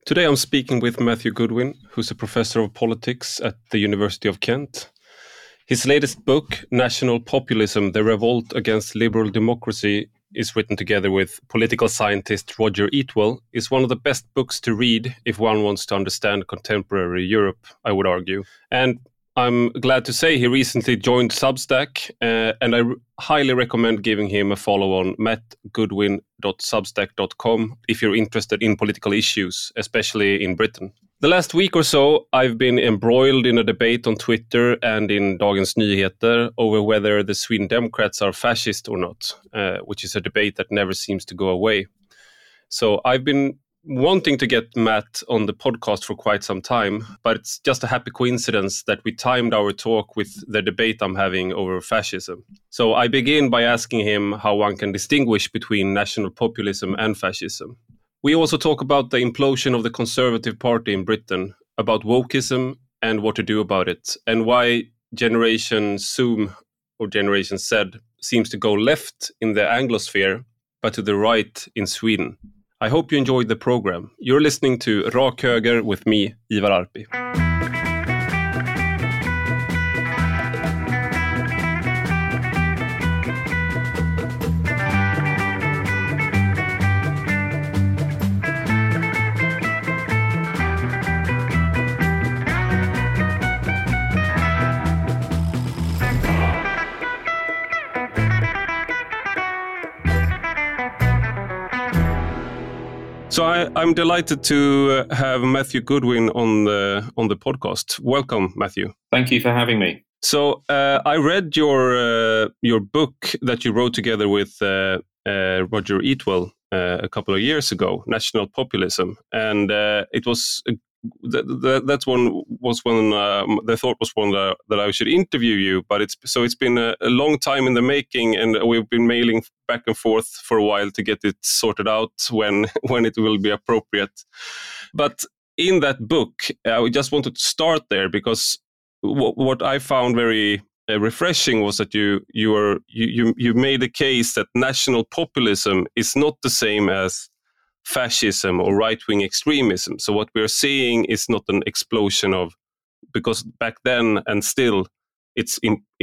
Today I'm speaking with Matthew Goodwin, who's a professor of politics at the University of Kent. His latest book, National Populism, The Revolt Against Liberal Democracy, is written together with political scientist Roger Eatwell, is one of the best books to read if one wants to understand contemporary Europe, I would argue. And I'm glad to say he recently joined Substack, and I highly recommend giving him a follow on mattgoodwin.substack.com if you're interested in political issues, especially in Britain. The last week or so, I've been embroiled in a debate on Twitter and in Dagens Nyheter over whether the Sweden Democrats are fascist or not, which is a debate that never seems to go away. So I've been wanting to get Matt on the podcast for quite some time, but it's just a happy coincidence that we timed our talk with the debate I'm having over fascism. So I begin by asking him how one can distinguish between national populism and fascism. We also talk about the implosion of the Conservative Party in Britain, about wokeism and what to do about it, and why Generation Zoom or Generation Z seems to go left in the Anglosphere, but to the right in Sweden. I hope you enjoyed the program. You're listening to Rak Höger with me, Ivar Arpi. So I'm delighted to have Matthew Goodwin on the podcast. Welcome, Matthew. Thank you for having me. So I read your book that you wrote together with Roger Eatwell a couple of years ago, National Populism, and it was that one was when the thought was one that I should interview you. But it's been a long time in the making, and we've been mailing back and forth for a while to get it sorted out when it will be appropriate. But in that book, I just wanted to start there because what I found very refreshing was that you made a case that national populism is not the same as fascism or right-wing extremism. So what we're seeing is not an explosion of, because back then and still, it's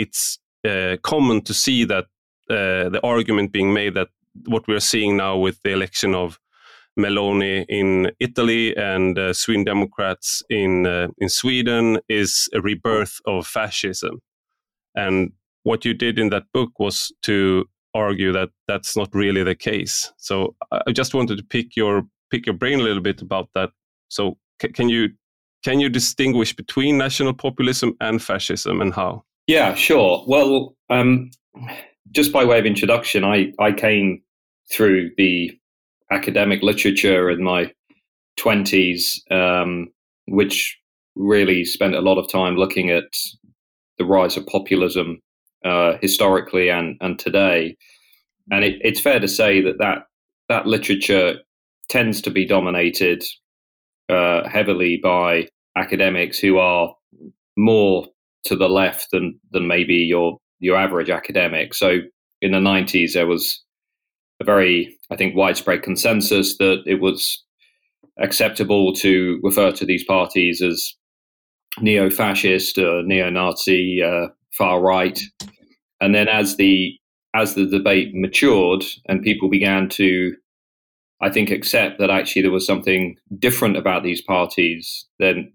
common to see that the argument being made that what we're seeing now with the election of Meloni in Italy and Sweden Democrats in Sweden is a rebirth of fascism. And what you did in that book was to argue that that's not really the case. So I just wanted to pick your brain a little bit about that. So can you distinguish between national populism and fascism, and how? Yeah, sure. Well, just by way of introduction, I came through the academic literature in my 20s, which really spent a lot of time looking at the rise of populism historically and today. And it's fair to say that literature tends to be dominated heavily by academics who are more to the left than maybe your average academic. So in the 90s, there was a very, I think, widespread consensus that it was acceptable to refer to these parties as neo-fascist, neo-Nazi, far right. And then as the debate matured and people began to, I think, accept that actually there was something different about these parties, then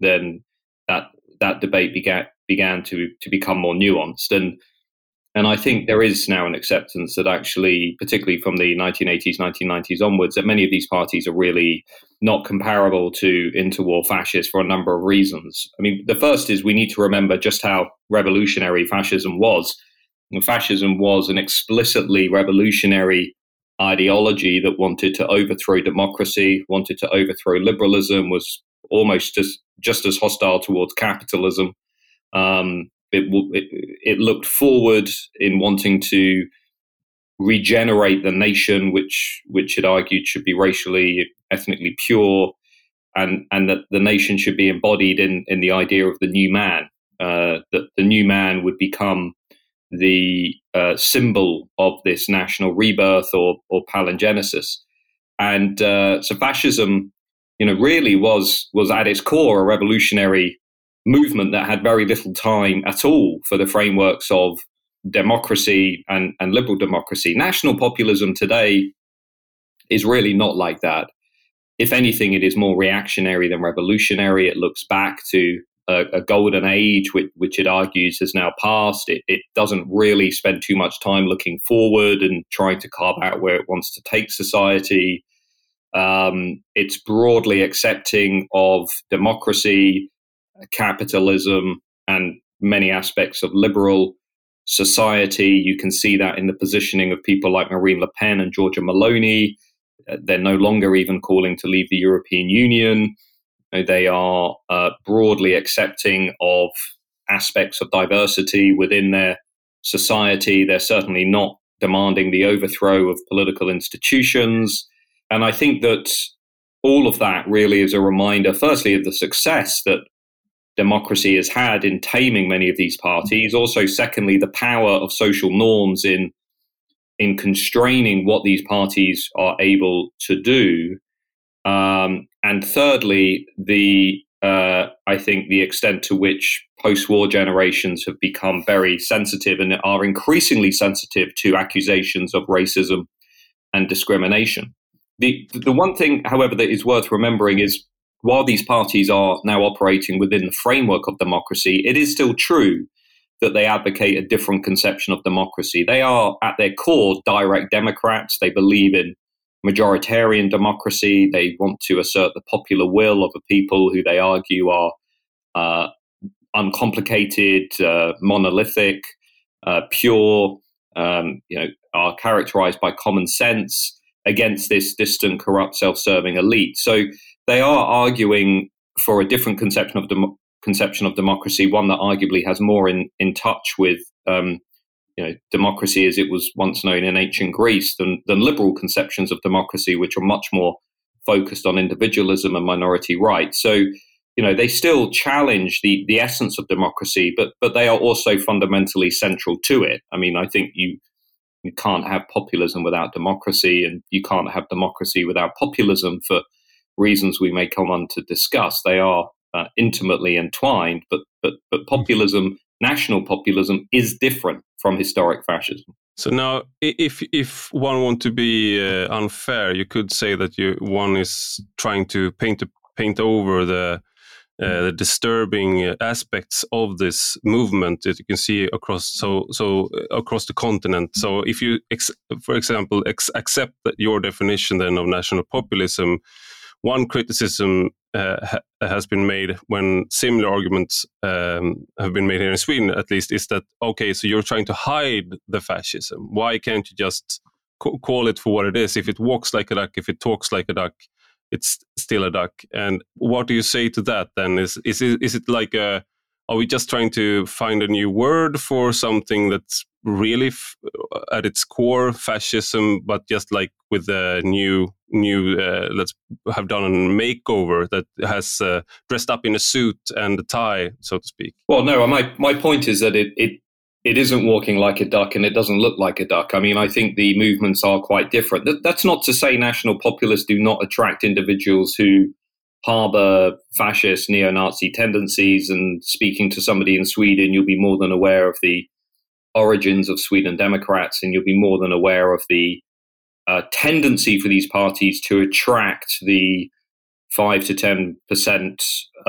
that debate began to become more nuanced. And I think there is now an acceptance that actually, particularly from the 1980s, 1990s onwards, that many of these parties are really not comparable to interwar fascists for a number of reasons. I mean, the first is we need to remember just how revolutionary fascism was. And fascism was an explicitly revolutionary ideology that wanted to overthrow democracy, wanted to overthrow liberalism, was almost just as hostile towards capitalism. It looked forward in wanting to regenerate the nation, which it argued should be racially, ethnically pure, and that the nation should be embodied in the idea of the new man, that the new man would become the symbol of this national rebirth or palingenesis. And so fascism really was at its core a revolutionary movement that had very little time at all for the frameworks of democracy and liberal democracy. National populism today is really not like that. If anything, it is more reactionary than revolutionary. It looks back to a golden age, which it argues has now passed. It doesn't really spend too much time looking forward and trying to carve out where it wants to take society. It's broadly accepting of democracy, capitalism, and many aspects of liberal society. You can see that in the positioning of people like Marine Le Pen and Giorgia Meloni. They're no longer even calling to leave the European Union. They are broadly accepting of aspects of diversity within their society. They're certainly not demanding the overthrow of political institutions. And I think that all of that really is a reminder, firstly, of the success that democracy has had in taming many of these parties. Also, secondly, the power of social norms in constraining what these parties are able to do. And thirdly, I think the extent to which post-war generations have become very sensitive and are increasingly sensitive to accusations of racism and discrimination. The one thing, however, that is worth remembering is while these parties are now operating within the framework of democracy, it is still true that they advocate a different conception of democracy. They are, at their core, direct democrats. They believe in majoritarian democracy. They want to assert the popular will of a people who they argue are uncomplicated, monolithic, pure, are characterized by common sense against this distant, corrupt, self-serving elite. So they are arguing for a different conception of democracy, one that arguably has more in touch with democracy as it was once known in ancient Greece than liberal conceptions of democracy, which are much more focused on individualism and minority rights. So, they still challenge the essence of democracy, but they are also fundamentally central to it. I mean, I think you can't have populism without democracy, and you can't have democracy without populism for reasons we may come on to discuss. They are intimately entwined, but populism, national populism, is different from historic fascism. So now, if one want to be unfair, you could say that one is trying to paint over the disturbing aspects of this movement that you can see across across the continent. So if you, for example, accept that your definition then of national populism, one criticism has been made when similar arguments have been made here in Sweden, at least, is that, okay, so you're trying to hide the fascism. Why can't you just call it for what it is? If it walks like a duck, if it talks like a duck, it's still a duck. And what do you say to that then? Is it like are we just trying to find a new word for something that's really at its core fascism, but just like with a new let's have done a makeover that has dressed up in a suit and a tie, so to speak? Well, no, my point is that it isn't walking like a duck and it doesn't look like a duck. I mean, I think the movements are quite different. That's not to say national populists do not attract individuals who harbor fascist neo-Nazi tendencies, and speaking to somebody in Sweden, you'll be more than aware of the origins of Sweden Democrats, and you'll be more than aware of the tendency for these parties to attract the 5 to 10%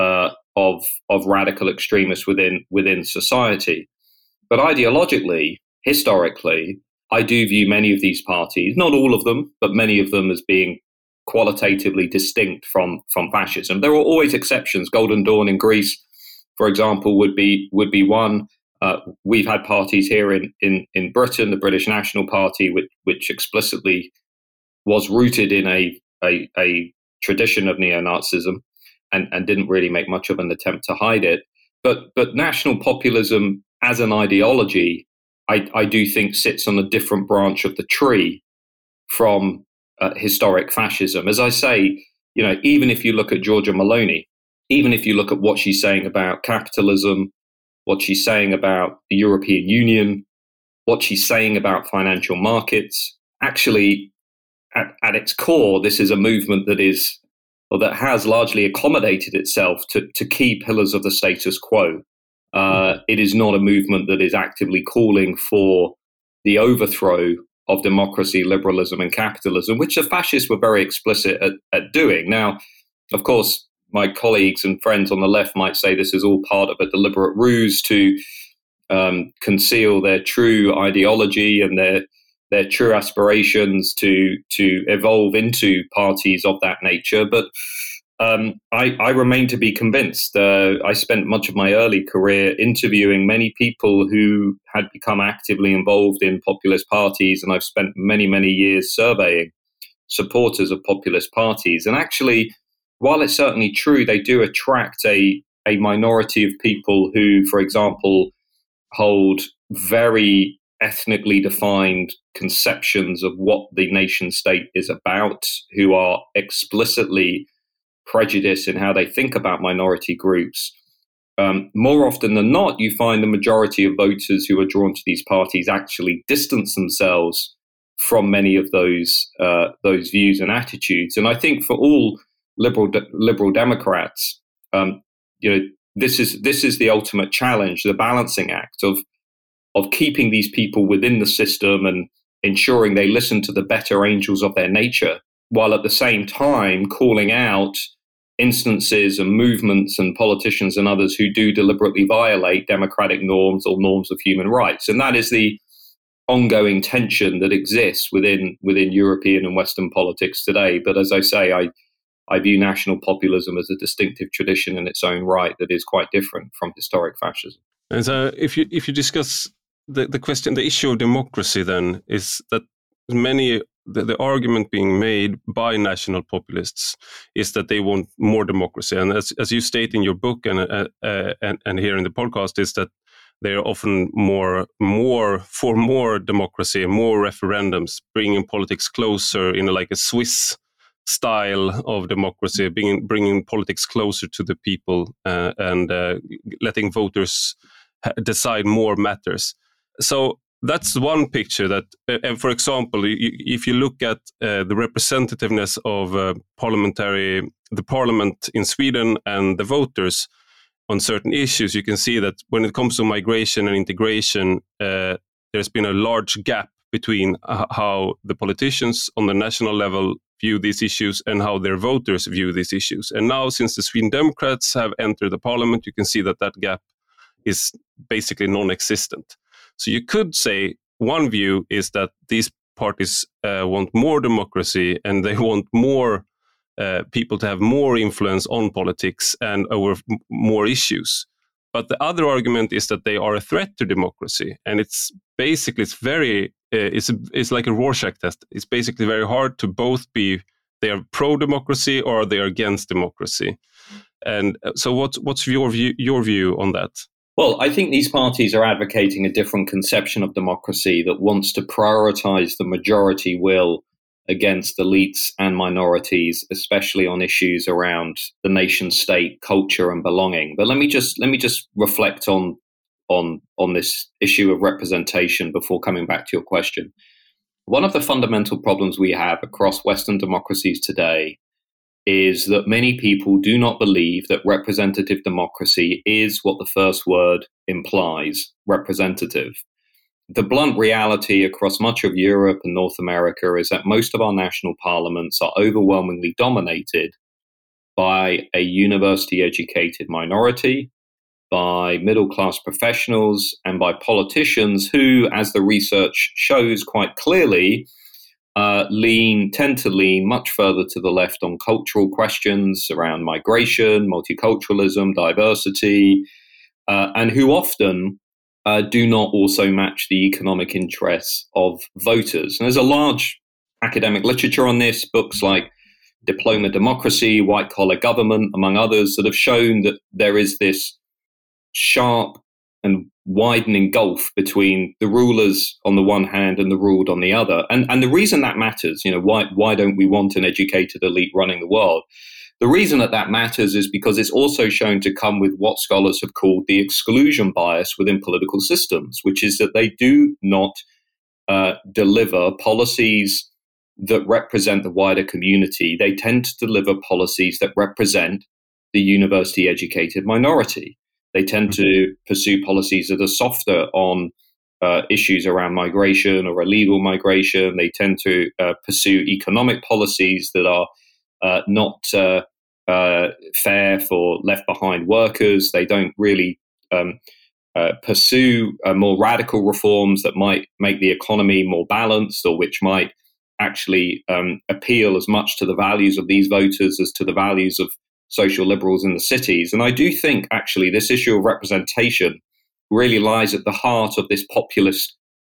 of radical extremists within society. But ideologically, historically, I do view many of these parties, not all of them, but many of them, as being qualitatively distinct from fascism. There are always exceptions. Golden Dawn in Greece, for example, would be one. We've had parties here in Britain, the British National Party, which explicitly was rooted in a tradition of neo-Nazism and didn't really make much of an attempt to hide it. But national populism as an ideology, I do think sits on a different branch of the tree from historic fascism. As I say, even if you look at Giorgia Meloni, even if you look at what she's saying about capitalism, what she's saying about the European Union, what she's saying about financial markets, actually, at its core, this is a movement that is or that has largely accommodated itself to key pillars of the status quo. It is not a movement that is actively calling for the overthrow of democracy, liberalism, and capitalism, which the fascists were very explicit at doing. Now, of course, my colleagues and friends on the left might say this is all part of a deliberate ruse to conceal their true ideology and their true aspirations to evolve into parties of that nature. But I remain to be convinced. I spent much of my early career interviewing many people who had become actively involved in populist parties, and I've spent many, many years surveying supporters of populist parties. And actually, while it's certainly true, they do attract a minority of people who, for example, hold very ethnically defined conceptions of what the nation state is about, who are explicitly prejudiced in how they think about minority groups. More often than not, you find the majority of voters who are drawn to these parties actually distance themselves from many of those views and attitudes. And I think for all liberal Democrats, this is the ultimate challenge, the balancing act of keeping these people within the system and ensuring they listen to the better angels of their nature, while at the same time calling out instances and movements and politicians and others who do deliberately violate democratic norms or norms of human rights. And that is the ongoing tension that exists within European and Western politics today. But as I say, I view national populism as a distinctive tradition in its own right that is quite different from historic fascism. And so if you discuss the question, the issue of democracy, then is that the argument being made by national populists is that they want more democracy. And as you state in your book and here in the podcast, is that they are often more for more democracy, more referendums, bringing politics closer in like a Swiss style of democracy, bringing politics closer to the people and letting voters decide more matters. So that's one picture that, and for example, if you look at the representativeness of the parliament in Sweden and the voters on certain issues, you can see that when it comes to migration and integration, there's been a large gap between how the politicians on the national level view these issues and how their voters view these issues. And now, since the Sweden Democrats have entered the parliament, you can see that gap is basically non-existent. So you could say one view is that these parties want more democracy and they want more people to have more influence on politics and over more issues. But the other argument is that they are a threat to democracy, and it's like a Rorschach test. It's basically very hard to both be they are pro-democracy or they are against democracy. And so, what's your view on that? Well, I think these parties are advocating a different conception of democracy that wants to prioritize the majority will against elites and minorities, especially on issues around the nation state, culture, and belonging. But let me just reflect on this issue of representation before coming back to your question. One of the fundamental problems we have across Western democracies today is that many people do not believe that representative democracy is what the first word implies, representative. The blunt reality across much of Europe and North America is that most of our national parliaments are overwhelmingly dominated by a university-educated minority, by middle-class professionals, and by politicians who, as the research shows quite clearly, tend to lean much further to the left on cultural questions around migration, multiculturalism, diversity, and who often do not also match the economic interests of voters. And there's a large academic literature on this, books like Diploma Democracy, White Collar Government, among others, that have shown that there is this sharp and widening gulf between the rulers on the one hand and the ruled on the other. And the reason that matters, why don't we want an educated elite running the world? The reason that matters is because it's also shown to come with what scholars have called the exclusion bias within political systems, which is that they do not deliver policies that represent the wider community, they tend to deliver policies that represent the university-educated minority. They tend to pursue policies that are softer on issues around migration or illegal migration. They tend to pursue economic policies that are not fair for left-behind workers. They don't really pursue more radical reforms that might make the economy more balanced, or which might actually appeal as much to the values of these voters as to the values of social liberals in the cities. And I do think actually this issue of representation really lies at the heart of this populist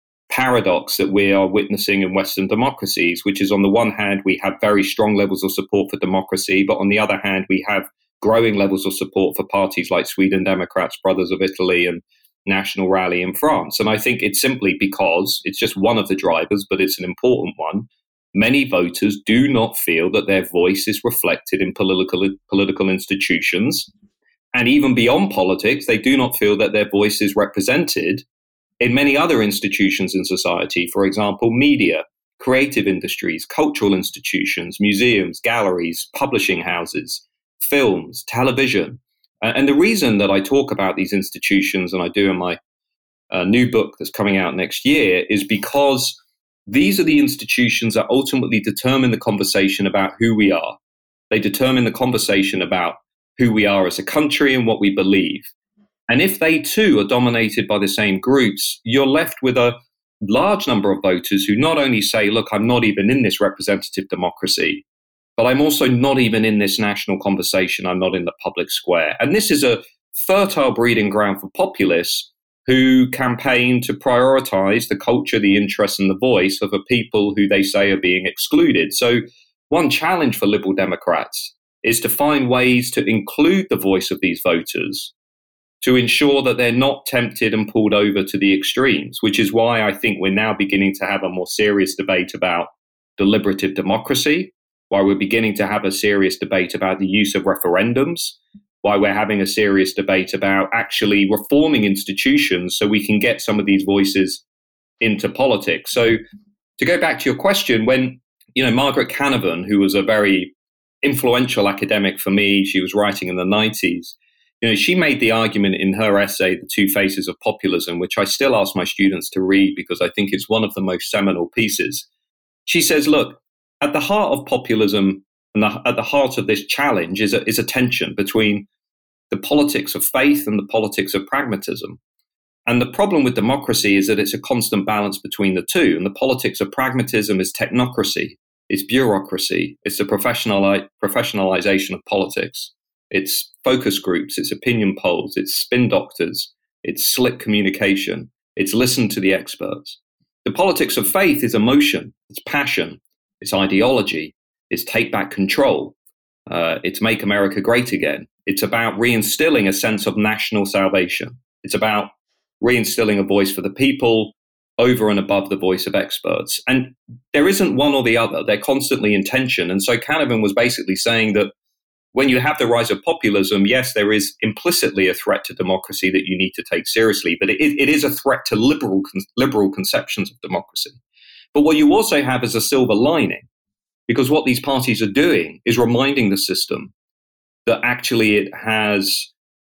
paradox that we are witnessing in Western democracies, which is, on the one hand, we have very strong levels of support for democracy, but on the other hand, we have growing levels of support for parties like Sweden Democrats, Brothers of Italy, and National Rally in France. And I think it's simply because it's just one of the drivers, but it's an important one. Many voters do not feel that their voice is reflected in political institutions. And even beyond politics, they do not feel that their voice is represented in many other institutions in society. For example, media, creative industries, cultural institutions, museums, galleries, publishing houses, films, television. And the reason that I talk about these institutions, and I do in my new book that's coming out next year, is because these are the institutions that ultimately determine the conversation about who we are. They determine the conversation about who we are as a country and what we believe. And if they too are dominated by the same groups, you're left with a large number of voters who not only say, look, I'm not even in this representative democracy, but I'm also not even in this national conversation. I'm not in the public square. And this is a fertile breeding ground for populists who campaign to prioritize the culture, the interests, and the voice of a people who they say are being excluded. So one challenge for Liberal Democrats is to find ways to include the voice of these voters, to ensure that they're not tempted and pulled over to the extremes, which is why I think we're now beginning to have a more serious debate about deliberative democracy, why we're beginning to have a serious debate about the use of referendums, why we're having a serious debate about actually reforming institutions so we can get some of these voices into politics. So to go back to your question, when, Margaret Canavan, who was a very influential academic for me, she was writing in the 90s, she made the argument in her essay, The Two Faces of Populism, which I still ask my students to read because I think it's one of the most seminal pieces. She says, look, at the heart of populism and at the heart of this challenge is a tension between the politics of faith and the politics of pragmatism. And the problem with democracy is that it's a constant balance between the two. And the politics of pragmatism is technocracy, it's bureaucracy, it's the professionalization of politics. It's focus groups, it's opinion polls, it's spin doctors, it's slick communication, it's listen to the experts. The politics of faith is emotion, it's passion, it's ideology, it's take back control, it's make America great again. It's about reinstilling a sense of national salvation. It's about reinstilling a voice for the people over and above the voice of experts. And there isn't one or the other. They're constantly in tension. And so Canavan was basically saying that when you have the rise of populism, yes, there is implicitly a threat to democracy that you need to take seriously, but it is a threat to liberal conceptions of democracy. But what you also have is a silver lining, because what these parties are doing is reminding the system that actually it has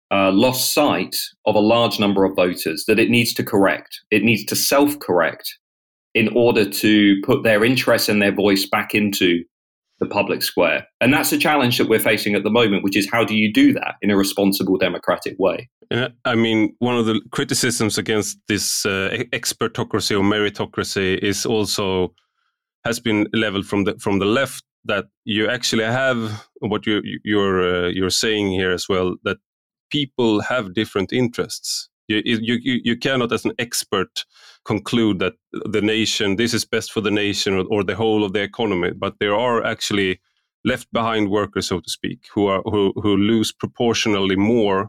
lost sight of a large number of voters, that it needs to correct. It needs to self-correct in order to put their interests and their voice back into the public square. And that's a challenge that we're facing at the moment, which is how do you do that in a responsible democratic way? I mean, one of the criticisms against this expertocracy or meritocracy is also has been leveled from the left, that you actually have what you're saying here as well, that people have different interests. You cannot, as an expert, conclude that the nation, this is best for the nation or the whole of the economy. But there are actually left behind workers, so to speak, who lose proportionally more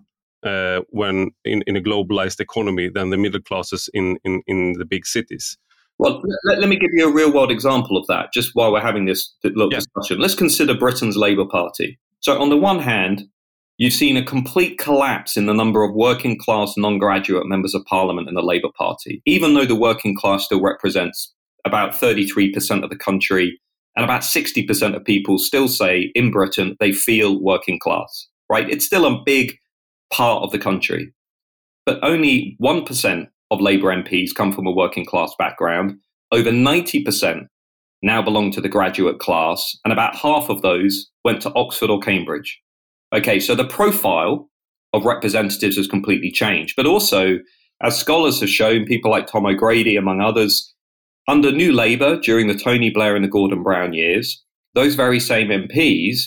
when in a globalized economy than the middle classes in the big cities. Well, let me give you a real world example of that, just while we're having this little discussion. Let's consider Britain's Labour Party. So on the one hand, you've seen a complete collapse in the number of working class non-graduate members of parliament in the Labour Party, even though the working class still represents about 33% of the country And about 60% of people still say in Britain they feel working class, right? It's still a big part of the country. But only 1% of Labour MPs come from a working class background. Over 90% now belong to the graduate class, and about half of those went to Oxford or Cambridge. Okay, so the profile of representatives has completely changed. But also, as scholars have shown, people like Tom O'Grady, among others, under New Labour during the Tony Blair and the Gordon Brown years, those very same MPs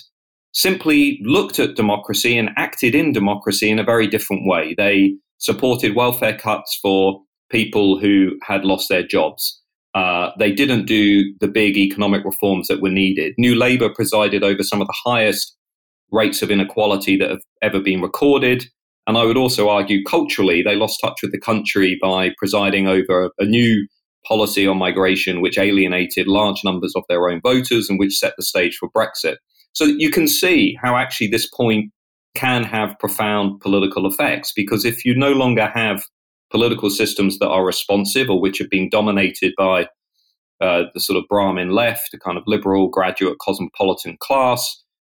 simply looked at democracy and acted in democracy in a very different way. They supported welfare cuts for people who had lost their jobs. They didn't do the big economic reforms that were needed. New Labour presided over some of the highest rates of inequality that have ever been recorded. And I would also argue culturally, they lost touch with the country by presiding over a new policy on migration, which alienated large numbers of their own voters and which set the stage for Brexit. So you can see how actually this point can have profound political effects, because if you no longer have political systems that are responsive or which have been dominated by the sort of Brahmin left, a kind of liberal graduate cosmopolitan class,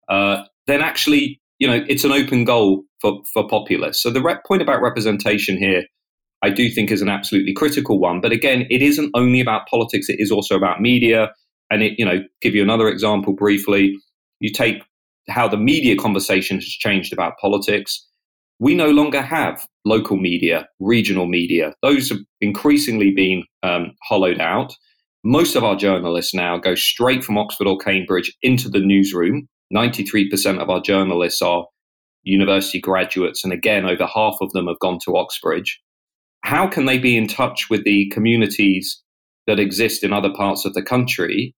then actually, it's an open goal for populists. So the point about representation here, I do think, is an absolutely critical one. But again, it isn't only about politics; it is also about media. And give you another example briefly. You take how the media conversation has changed about politics. We no longer have local media, regional media. Those have increasingly been hollowed out. Most of our journalists now go straight from Oxford or Cambridge into the newsroom. 93% of our journalists are university graduates. And again, over half of them have gone to Oxbridge. How can they be in touch with the communities that exist in other parts of the country?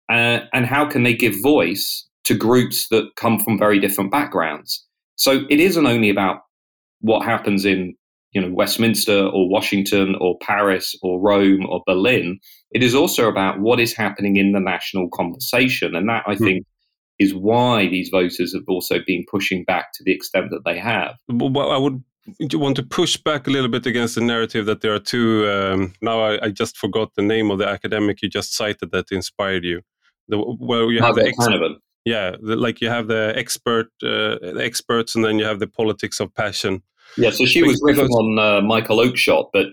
And how can they give voice to groups that come from very different backgrounds? So it isn't only about what happens in Westminster or Washington or Paris or Rome or Berlin. It is also about what is happening in the national conversation. And that, I think, is why these voters have also been pushing back to the extent that they have. Well, I would want to push back a little bit against the narrative that there are two. Now I just forgot the name of the academic you just cited that inspired you. You have like you have the experts, and then you have the politics of passion. Yeah, so she was riffing on Michael Oakeshott, but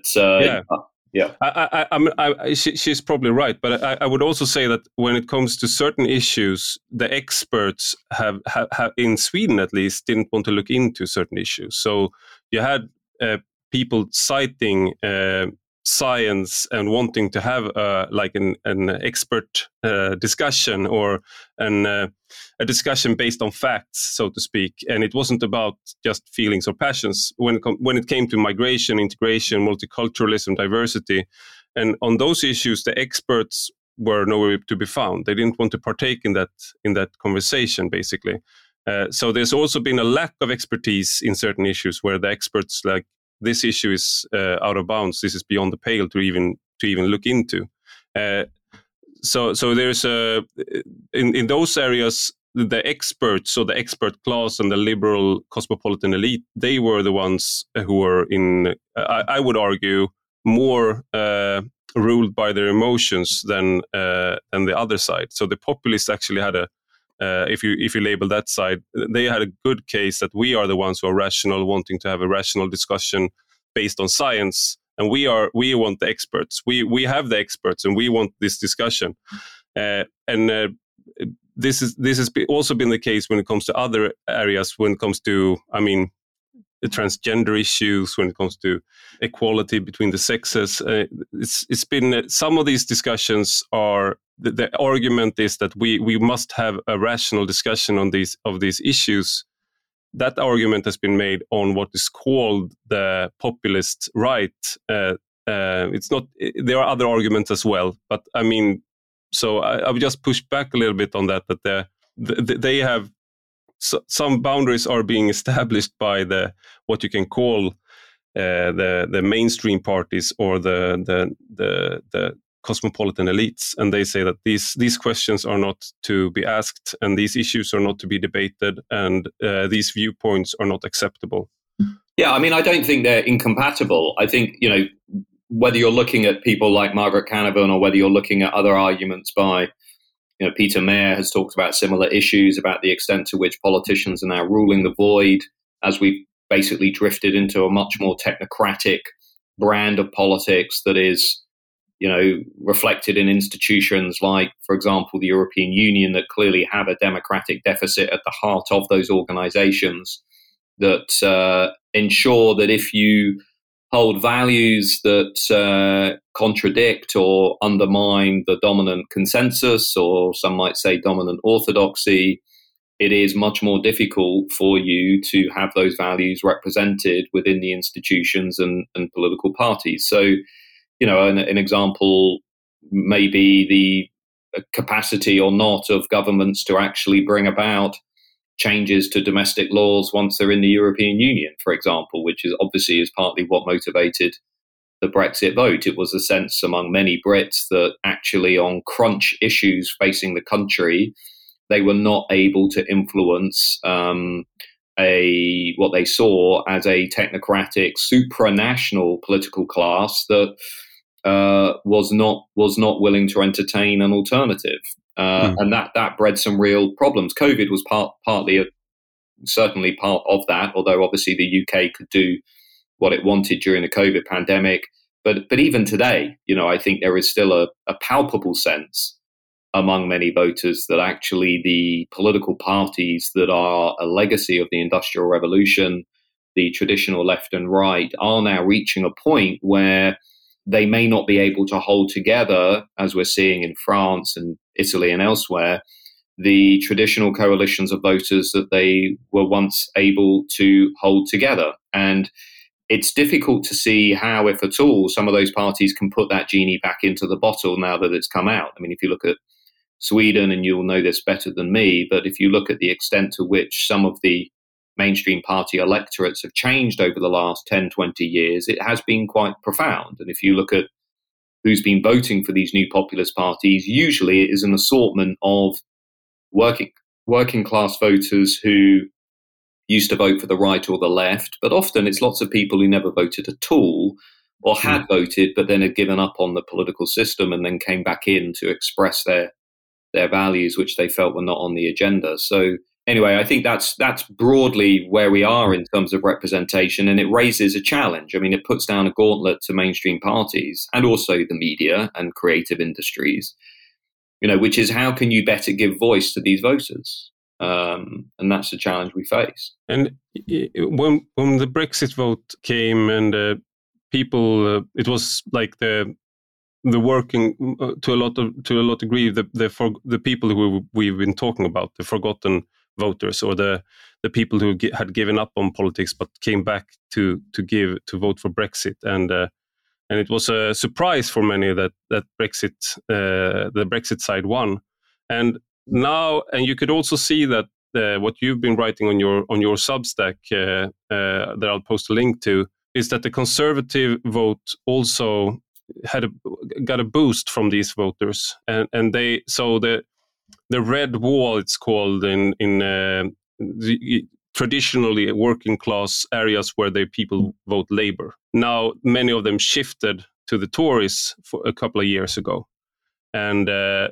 she's probably right. But I would also say that when it comes to certain issues, the experts have in Sweden at least didn't want to look into certain issues. So you had people citing science and wanting to have an expert discussion or a discussion based on facts, so to speak. And it wasn't about just feelings or passions when it came to migration, integration, multiculturalism, diversity. And on those issues, the experts were nowhere to be found. They didn't want to partake in that conversation, basically. So there's also been a lack of expertise in certain issues where the experts like, this issue is out of bounds. This is beyond the pale to even look into. So there's in those areas, the experts, so the expert class and the liberal cosmopolitan elite, they were the ones who were in, I would argue, more ruled by their emotions than the other side. So the populists actually had if you label that side, they had a good case that we are the ones who are rational, wanting to have a rational discussion based on science, and we want the experts. We have the experts, and we want this discussion. This has also been the case when it comes to other areas. When it comes to, the transgender issues, when it comes to equality between the sexes, it's been some of these discussions are. The argument is that we must have a rational discussion on these issues. That argument has been made on what is called the populist right. It's not. There are other arguments as well, but so I would just push back a little bit on that. That they have some boundaries are being established by what you can call the mainstream parties or the cosmopolitan elites, and they say that these questions are not to be asked, and these issues are not to be debated, and these viewpoints are not acceptable. Yeah, I don't think they're incompatible. I think, whether you're looking at people like Margaret Canavan or whether you're looking at other arguments by Peter Mayer has talked about similar issues, about the extent to which politicians are now ruling the void as we've basically drifted into a much more technocratic brand of politics that is, reflected in institutions like, for example, the European Union, that clearly have a democratic deficit at the heart of those organizations, that ensure that if you hold values that contradict or undermine the dominant consensus, or some might say dominant orthodoxy, it is much more difficult for you to have those values represented within the institutions and political parties. So, an example may be the capacity or not of governments to actually bring about changes to domestic laws once they're in the European Union, for example, which is obviously is partly what motivated the Brexit vote. It was a sense among many Brits that actually on crunch issues facing the country, they were not able to influence what they saw as a technocratic supranational political class that was not willing to entertain an alternative, and that bred some real problems. COVID was certainly part of that, although obviously the UK could do what it wanted during the COVID pandemic. But even today, I think there is still a palpable sense among many voters that actually the political parties that are a legacy of the Industrial Revolution, the traditional left and right, are now reaching a point where they may not be able to hold together, as we're seeing in France and Italy and elsewhere, the traditional coalitions of voters that they were once able to hold together. And it's difficult to see how, if at all, some of those parties can put that genie back into the bottle now that it's come out. I mean, if you look at Sweden, and you'll know this better than me, but if you look at the extent to which some of the mainstream party electorates have changed over the last 10, 20 years, it has been quite profound. And if you look at who's been voting for these new populist parties, usually it is an assortment of working class voters who used to vote for the right or the left, but often it's lots of people who never voted at all, or had voted but then had given up on the political system and then came back in to express their values, which they felt were not on the agenda. So anyway, I think that's broadly where we are in terms of representation, and it raises a challenge. I mean, it puts down a gauntlet to mainstream parties and also the media and creative industries, which is how can you better give voice to these voters? And that's the challenge we face. And when the Brexit vote came, and people, it was like the working to a lot degree, the people who we've been talking about, the forgotten voters, or the people who had given up on politics but came back to vote for Brexit, and it was a surprise for many that Brexit, the Brexit side won. And now, and you could also see that what you've been writing on your Substack, that I'll post a link to, is that the Conservative vote also got a boost from these voters, and the red wall, it's called, in the traditionally working class areas where the people vote Labour. Now many of them shifted to the Tories for a couple of years ago, and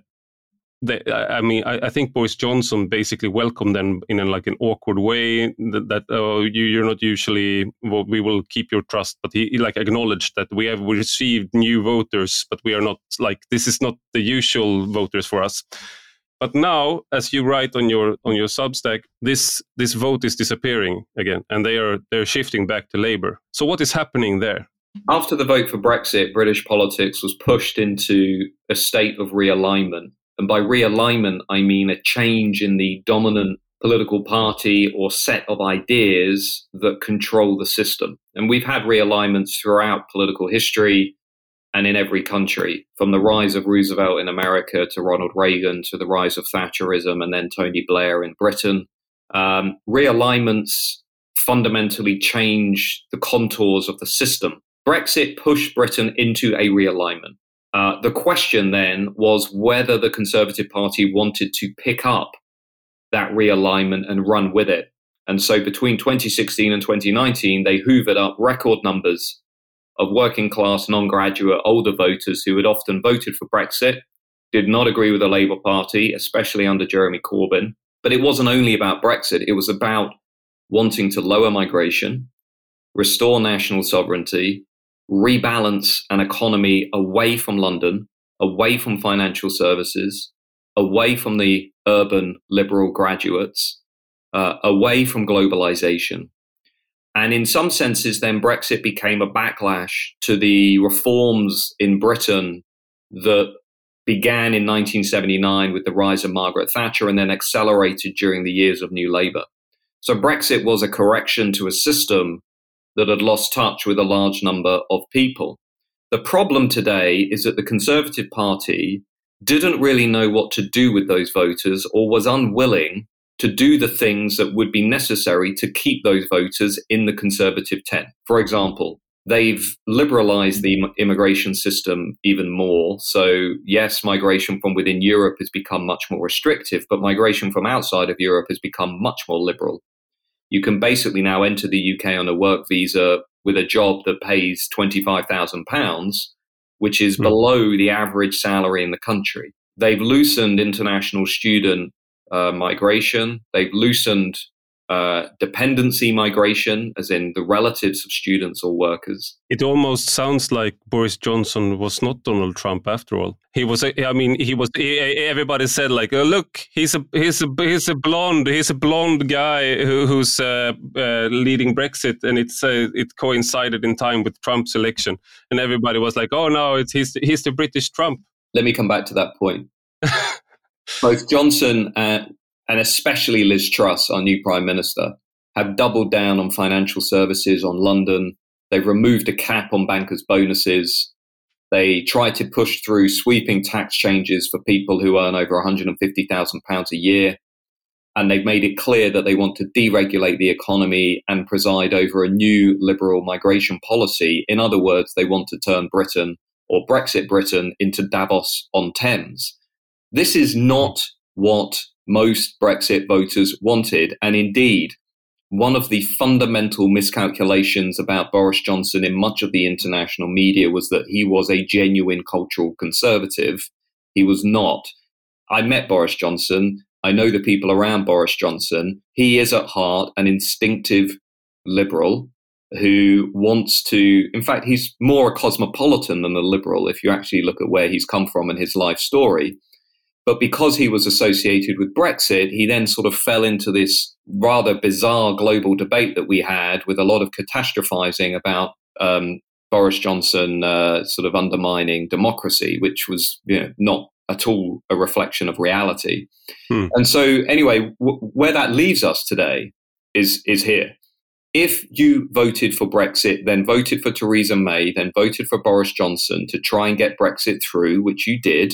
I think Boris Johnson basically welcomed them in an awkward way, that you're not usually, well, we will keep your trust, but he acknowledged that we received new voters, but we are not, this is not the usual voters for us. But now, as you write on your Substack, this vote is disappearing again, and they're shifting back to Labour. So what is happening there? After the vote for Brexit, British politics was pushed into a state of realignment. And by realignment, I mean a change in the dominant political party or set of ideas that control the system. And we've had realignments throughout political history and in every country, from the rise of Roosevelt in America to Ronald Reagan to the rise of Thatcherism and then Tony Blair in Britain. Realignments fundamentally change the contours of the system. Brexit pushed Britain into a realignment. The question then was whether the Conservative Party wanted to pick up that realignment and run with it. And so between 2016 and 2019, they hoovered up record numbers of working class, non-graduate, older voters who had often voted for Brexit, did not agree with the Labour Party, especially under Jeremy Corbyn. But it wasn't only about Brexit. It was about wanting to lower migration, restore national sovereignty, rebalance an economy away from London, away from financial services, away from the urban liberal graduates, away from globalization. And in some senses, then Brexit became a backlash to the reforms in Britain that began in 1979 with the rise of Margaret Thatcher and then accelerated during the years of New Labour. So Brexit was a correction to a system that had lost touch with a large number of people. The problem today is that the Conservative Party didn't really know what to do with those voters or was unwilling to do the things that would be necessary to keep those voters in the Conservative tent. For example, they've liberalized the immigration system even more. So yes, migration from within Europe has become much more restrictive, but migration from outside of Europe has become much more liberal. You can basically now enter the UK on a work visa with a job that pays £25,000, which is below the average salary in the country. They've loosened international student migration. They've loosened dependency migration, as in the relatives of students or workers. It almost sounds like Boris Johnson was not Donald Trump after all. He was. I mean, he was. Everybody said like, oh, look, he's a blonde guy who's leading Brexit, and it coincided in time with Trump's election, and everybody was like, oh no, he's the British Trump. Let me come back to that point. Both Johnson and especially Liz Truss, our new Prime Minister, have doubled down on financial services, on London. They've removed a cap on bankers' bonuses. They tried to push through sweeping tax changes for people who earn over £150,000 a year. And they've made it clear that they want to deregulate the economy and preside over a new liberal migration policy. In other words, they want to turn Britain, or Brexit Britain, into Davos-on-Thames. This is not what most Brexit voters wanted. And indeed, one of the fundamental miscalculations about Boris Johnson in much of the international media was that he was a genuine cultural conservative. He was not. I met Boris Johnson. I know the people around Boris Johnson. He is at heart an instinctive liberal who wants to, in fact, he's more a cosmopolitan than a liberal if you actually look at where he's come from and his life story. But because he was associated with Brexit, he then sort of fell into this rather bizarre global debate that we had with a lot of catastrophizing about Boris Johnson sort of undermining democracy, which was not at all a reflection of reality. And so anyway, where that leaves us today is here. If you voted for Brexit, then voted for Theresa May, then voted for Boris Johnson to try and get Brexit through, which you did,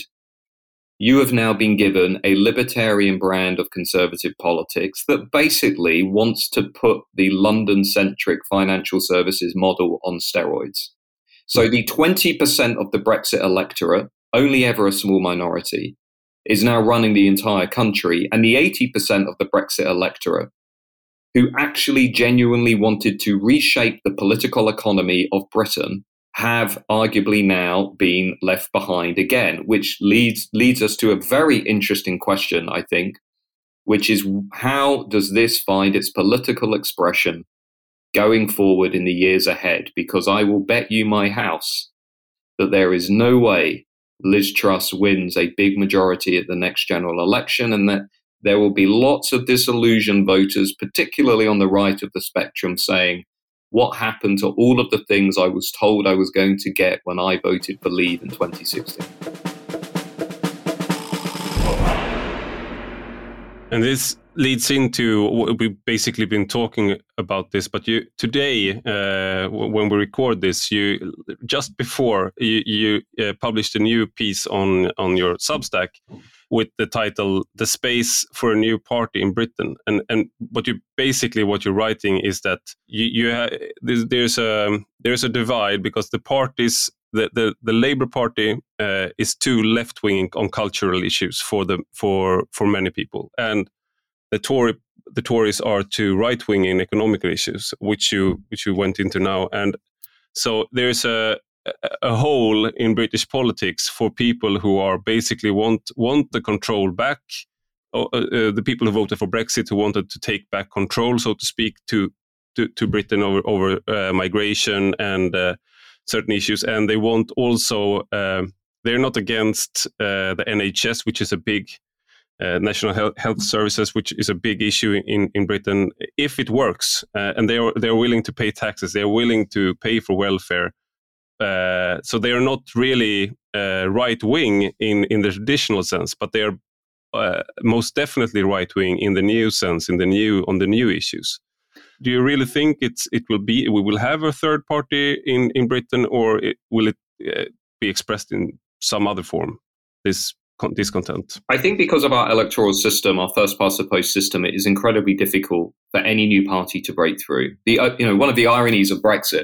you have now been given a libertarian brand of conservative politics that basically wants to put the London-centric financial services model on steroids. So the 20% of the Brexit electorate, only ever a small minority, is now running the entire country. And the 80% of the Brexit electorate, who actually genuinely wanted to reshape the political economy of Britain, have arguably now been left behind again, which leads us to a very interesting question, I think, which is how does this find its political expression going forward in the years ahead? Because I will bet you my house that there is no way Liz Truss wins a big majority at the next general election, and that there will be lots of disillusioned voters, particularly on the right of the spectrum, saying, what happened to all of the things I was told I was going to get when I voted for Leave in 2016? And this leads into what we've basically been talking about this. But today, when we record this, just before you published a new piece on your Substack with the title "The Space for a New Party in Britain." And what you're writing is that there's a divide because the parties. The Labour Party is too left-wing on cultural issues for many people, and the Tories are too right-wing in economical issues, which you went into now. And so there's a a hole in British politics for people who are basically want the control back. The people who voted for Brexit, who wanted to take back control, so to speak, to Britain over migration and certain issues, and they want also. They're not against the NHS, which is a big national health services, which is a big issue in Britain. If it works, and they're willing to pay taxes, they're willing to pay for welfare. So they are not really right wing in the traditional sense, but they are most definitely right wing in the new sense, on the new issues. Do you really think we will have a third party in Britain, or will it be expressed in some other form, this discontent? I think because of our electoral system, our first past the post system, it is incredibly difficult for any new party to break through. One of the ironies of Brexit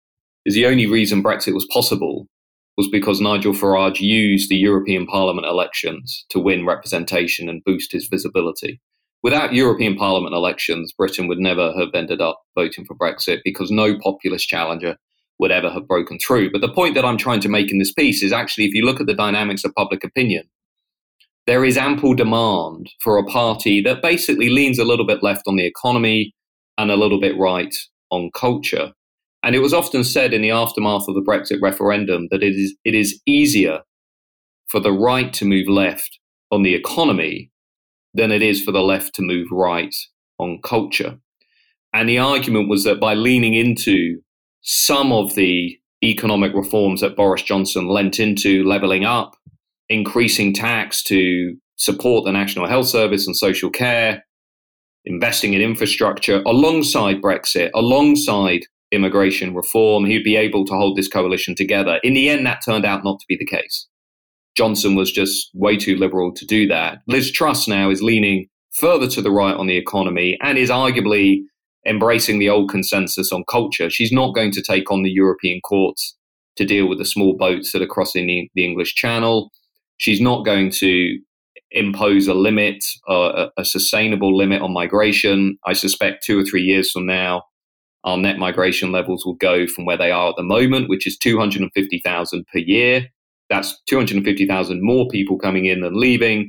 is the only reason Brexit was possible was because Nigel Farage used the European Parliament elections to win representation and boost his visibility. Without European Parliament elections, Britain would never have ended up voting for Brexit because no populist challenger would ever have broken through. But the point that I'm trying to make in this piece is actually, if you look at the dynamics of public opinion, there is ample demand for a party that basically leans a little bit left on the economy and a little bit right on culture. And it was often said in the aftermath of the Brexit referendum that it is easier for the right to move left on the economy than it is for the left to move right on culture. And the argument was that by leaning into some of the economic reforms that Boris Johnson lent into, levelling up, increasing tax to support the National Health Service and social care, investing in infrastructure, alongside Brexit, alongside immigration reform, he'd be able to hold this coalition together. In the end, that turned out not to be the case. Johnson was just way too liberal to do that. Liz Truss now is leaning further to the right on the economy and is arguably embracing the old consensus on culture. She's not going to take on the European courts to deal with the small boats that are crossing the English Channel. She's not going to impose a limit, a sustainable limit on migration. I suspect 2 or 3 years from now, our net migration levels will go from where they are at the moment, which is 250,000 per year. That's 250,000 more people coming in than leaving,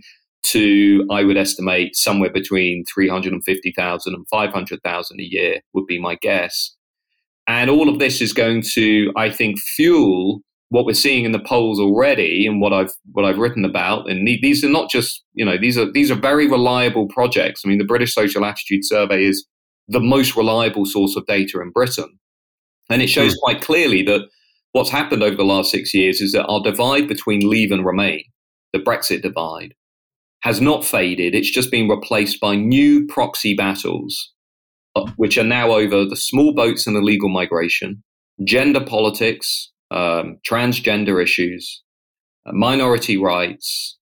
to, I would estimate, somewhere between 350,000 and 500,000 a year would be my guess. And all of this is going to, I think, fuel what we're seeing in the polls already, and what I've written about. And these are not just, these are very reliable projects. I mean, the British Social Attitude Survey is the most reliable source of data in Britain, and it shows quite clearly that what's happened over the last 6 years is that our divide between Leave and Remain, the Brexit divide, has not faded. It's just been replaced by new proxy battles, which are now over the small boats and illegal migration, gender politics, transgender issues, minority rights,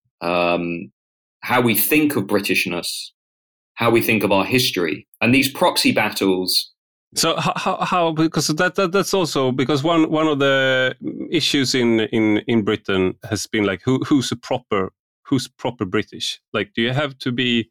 how we think of Britishness, how we think of our history. And these proxy battles. So how because that's also because one of the issues in Britain has been like who's proper British? Like, do you have to be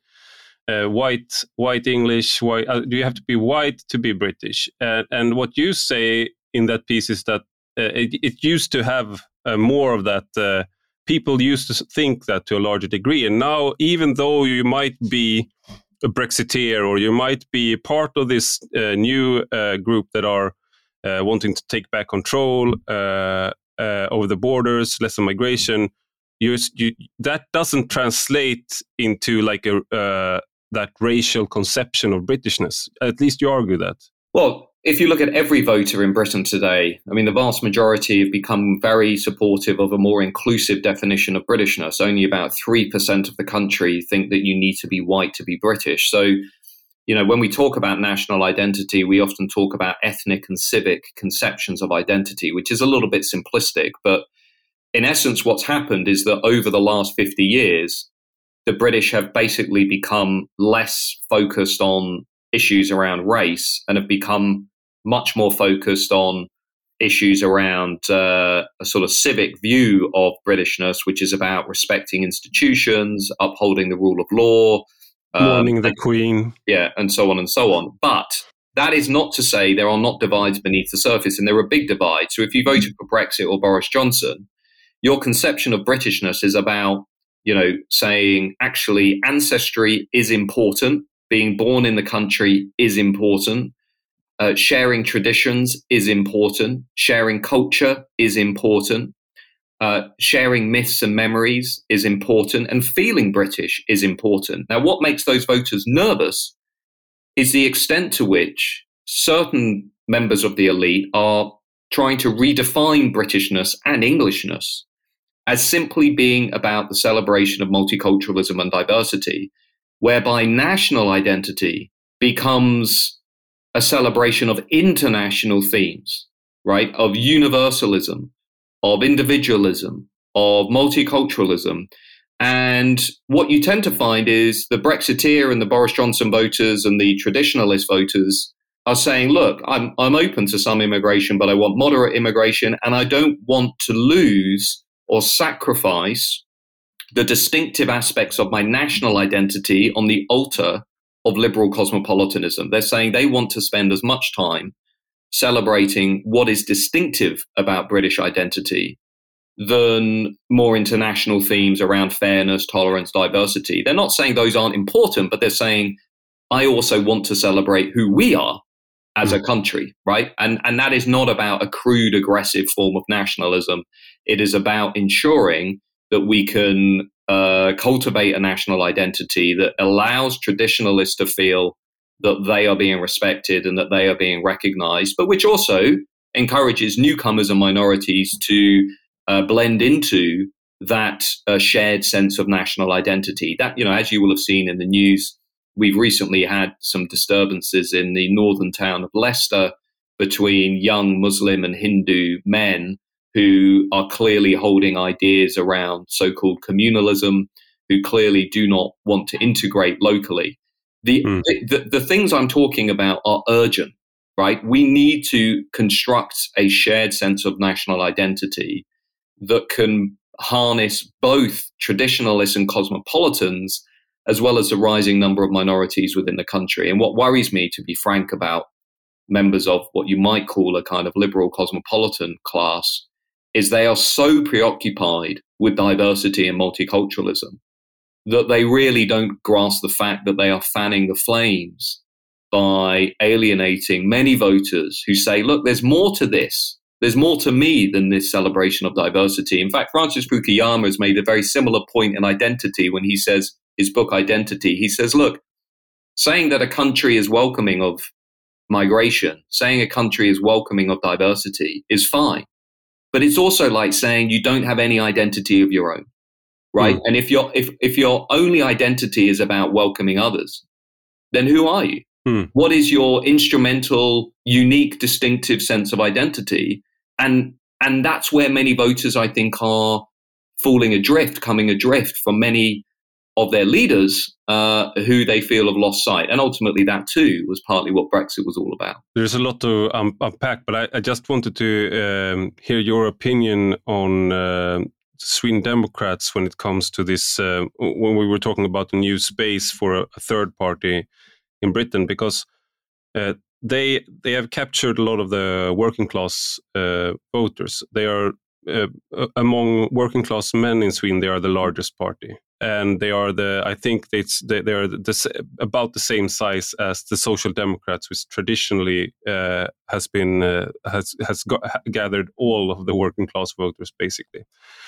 white English? Do you have to be white to be British? And what you say in that piece is that it used to have more of that. People used to think that to a larger degree, and now, even though you might be a Brexiteer, or you might be part of this new group that are wanting to take back control over the borders, less migration, that doesn't translate into like that racial conception of Britishness. At least you argue that. Well, if you look at every voter in Britain today, I mean, the vast majority have become very supportive of a more inclusive definition of Britishness. Only about 3% of the country think that you need to be white to be British. So, when we talk about national identity, we often talk about ethnic and civic conceptions of identity, which is a little bit simplistic. But in essence, what's happened is that over the last 50 years, the British have basically become less focused on issues around race and have become much more focused on issues around a sort of civic view of Britishness, which is about respecting institutions, upholding the rule of law, mourning the Queen. Yeah, and so on and so on. But that is not to say there are not divides beneath the surface, and there are big divides. So if you voted for Brexit or Boris Johnson, your conception of Britishness is about, saying actually ancestry is important, being born in the country is important, sharing traditions is important, sharing culture is important, sharing myths and memories is important, and feeling British is important. Now, what makes those voters nervous is the extent to which certain members of the elite are trying to redefine Britishness and Englishness as simply being about the celebration of multiculturalism and diversity, whereby national identity becomes a celebration of international themes, right? Of universalism, of individualism, of multiculturalism. And what you tend to find is the Brexiteer and the Boris Johnson voters and the traditionalist voters are saying, look, I'm open to some immigration, but I want moderate immigration, and I don't want to lose or sacrifice the distinctive aspects of my national identity on the altar of liberal cosmopolitanism. They're saying they want to spend as much time celebrating what is distinctive about British identity than more international themes around fairness, tolerance, diversity. They're not saying those aren't important, but they're saying, I also want to celebrate who we are as a country, right? And that is not about a crude, aggressive form of nationalism. It is about ensuring that we can cultivate a national identity that allows traditionalists to feel that they are being respected and that they are being recognized, but which also encourages newcomers and minorities to blend into that shared sense of national identity. That, as you will have seen in the news, we've recently had some disturbances in the northern town of Leicester between young Muslim and Hindu men who are clearly holding ideas around so-called communalism, who clearly do not want to integrate locally. The things I'm talking about are urgent, right? We need to construct a shared sense of national identity that can harness both traditionalists and cosmopolitans, as well as the rising number of minorities within the country. And what worries me, to be frank, about members of what you might call a kind of liberal cosmopolitan class is they are so preoccupied with diversity and multiculturalism that they really don't grasp the fact that they are fanning the flames by alienating many voters who say, look, there's more to this. There's more to me than this celebration of diversity. In fact, Francis Fukuyama has made a very similar point in Identity when he says, his book Identity, he says, look, saying that a country is welcoming of migration, saying a country is welcoming of diversity is fine. But it's also like saying you don't have any identity of your own, right? And if your only identity is about welcoming others, then who are you? What is your instrumental, unique, distinctive sense of identity? And that's where many voters, I think, are coming adrift from many of their leaders who they feel have lost sight. And ultimately that too was partly what Brexit was all about. There's a lot to unpack, but I just wanted to hear your opinion on Sweden Democrats when it comes to this, when we were talking about the new space for a third party in Britain, because they have captured a lot of the working class voters. They are among working class men in Sweden, they are the largest party. And they are about the same size as the Social Democrats, which traditionally has gathered all of the working class voters, basically.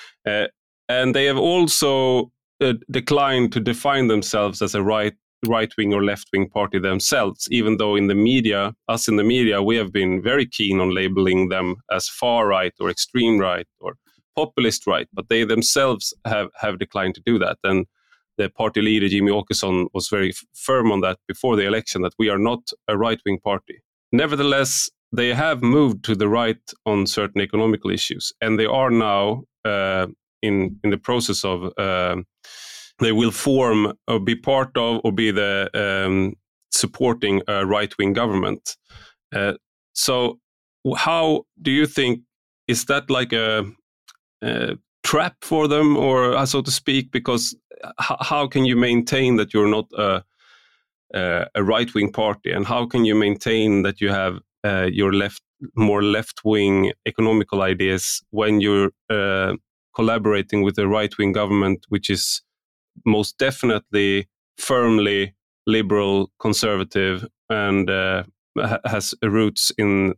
And they have also declined to define themselves as a right-wing or left-wing party themselves, even though in the media, we have been very keen on labeling them as far-right or extreme right or populist right, but they themselves have declined to do that. And the party leader, Jimmy Åkesson, was very firm on that before the election, that we are not a right-wing party. Nevertheless, they have moved to the right on certain economical issues, and they are now in the process of they will form or be part of or be the supporting a right-wing government. So how do you think, is that like a trap for them, or so to speak? Because how can you maintain that you're not a right-wing party, and how can you maintain that you have your more left-wing economical ideas when you're collaborating with a right-wing government, which is most definitely firmly liberal, conservative, and has roots in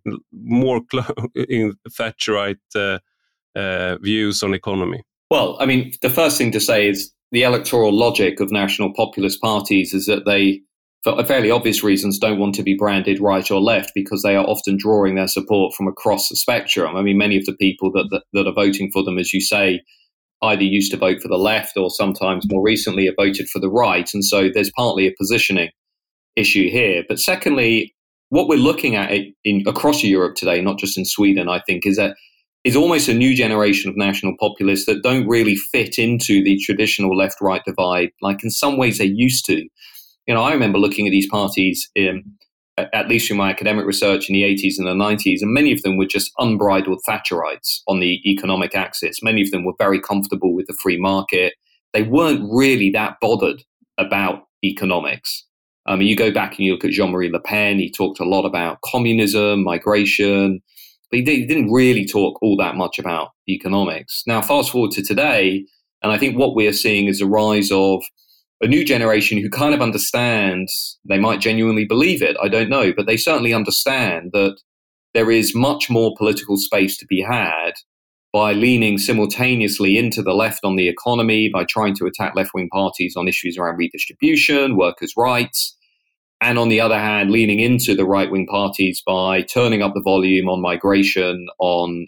in Thatcherite views on economy? Well, I mean, the first thing to say is the electoral logic of national populist parties is that they, for fairly obvious reasons, don't want to be branded right or left because they are often drawing their support from across the spectrum. I mean, many of the people that are voting for them, as you say, either used to vote for the left or sometimes more recently have voted for the right. And so there's partly a positioning issue here. But secondly, what we're looking at across Europe today, not just in Sweden, I think, is almost a new generation of national populists that don't really fit into the traditional left-right divide, like in some ways they used to. You know, I remember looking at these parties, at least through my academic research in the 80s and the 90s, and many of them were just unbridled Thatcherites on the economic axis. Many of them were very comfortable with the free market. They weren't really that bothered about economics. You go back and you look at Jean-Marie Le Pen, he talked a lot about communism, migration, but he didn't really talk all that much about economics. Now, fast forward to today, and I think what we are seeing is a rise of a new generation who kind of understand, they might genuinely believe it, I don't know, but they certainly understand that there is much more political space to be had by leaning simultaneously into the left on the economy, by trying to attack left-wing parties on issues around redistribution, workers' rights, and on the other hand, leaning into the right-wing parties by turning up the volume on migration, on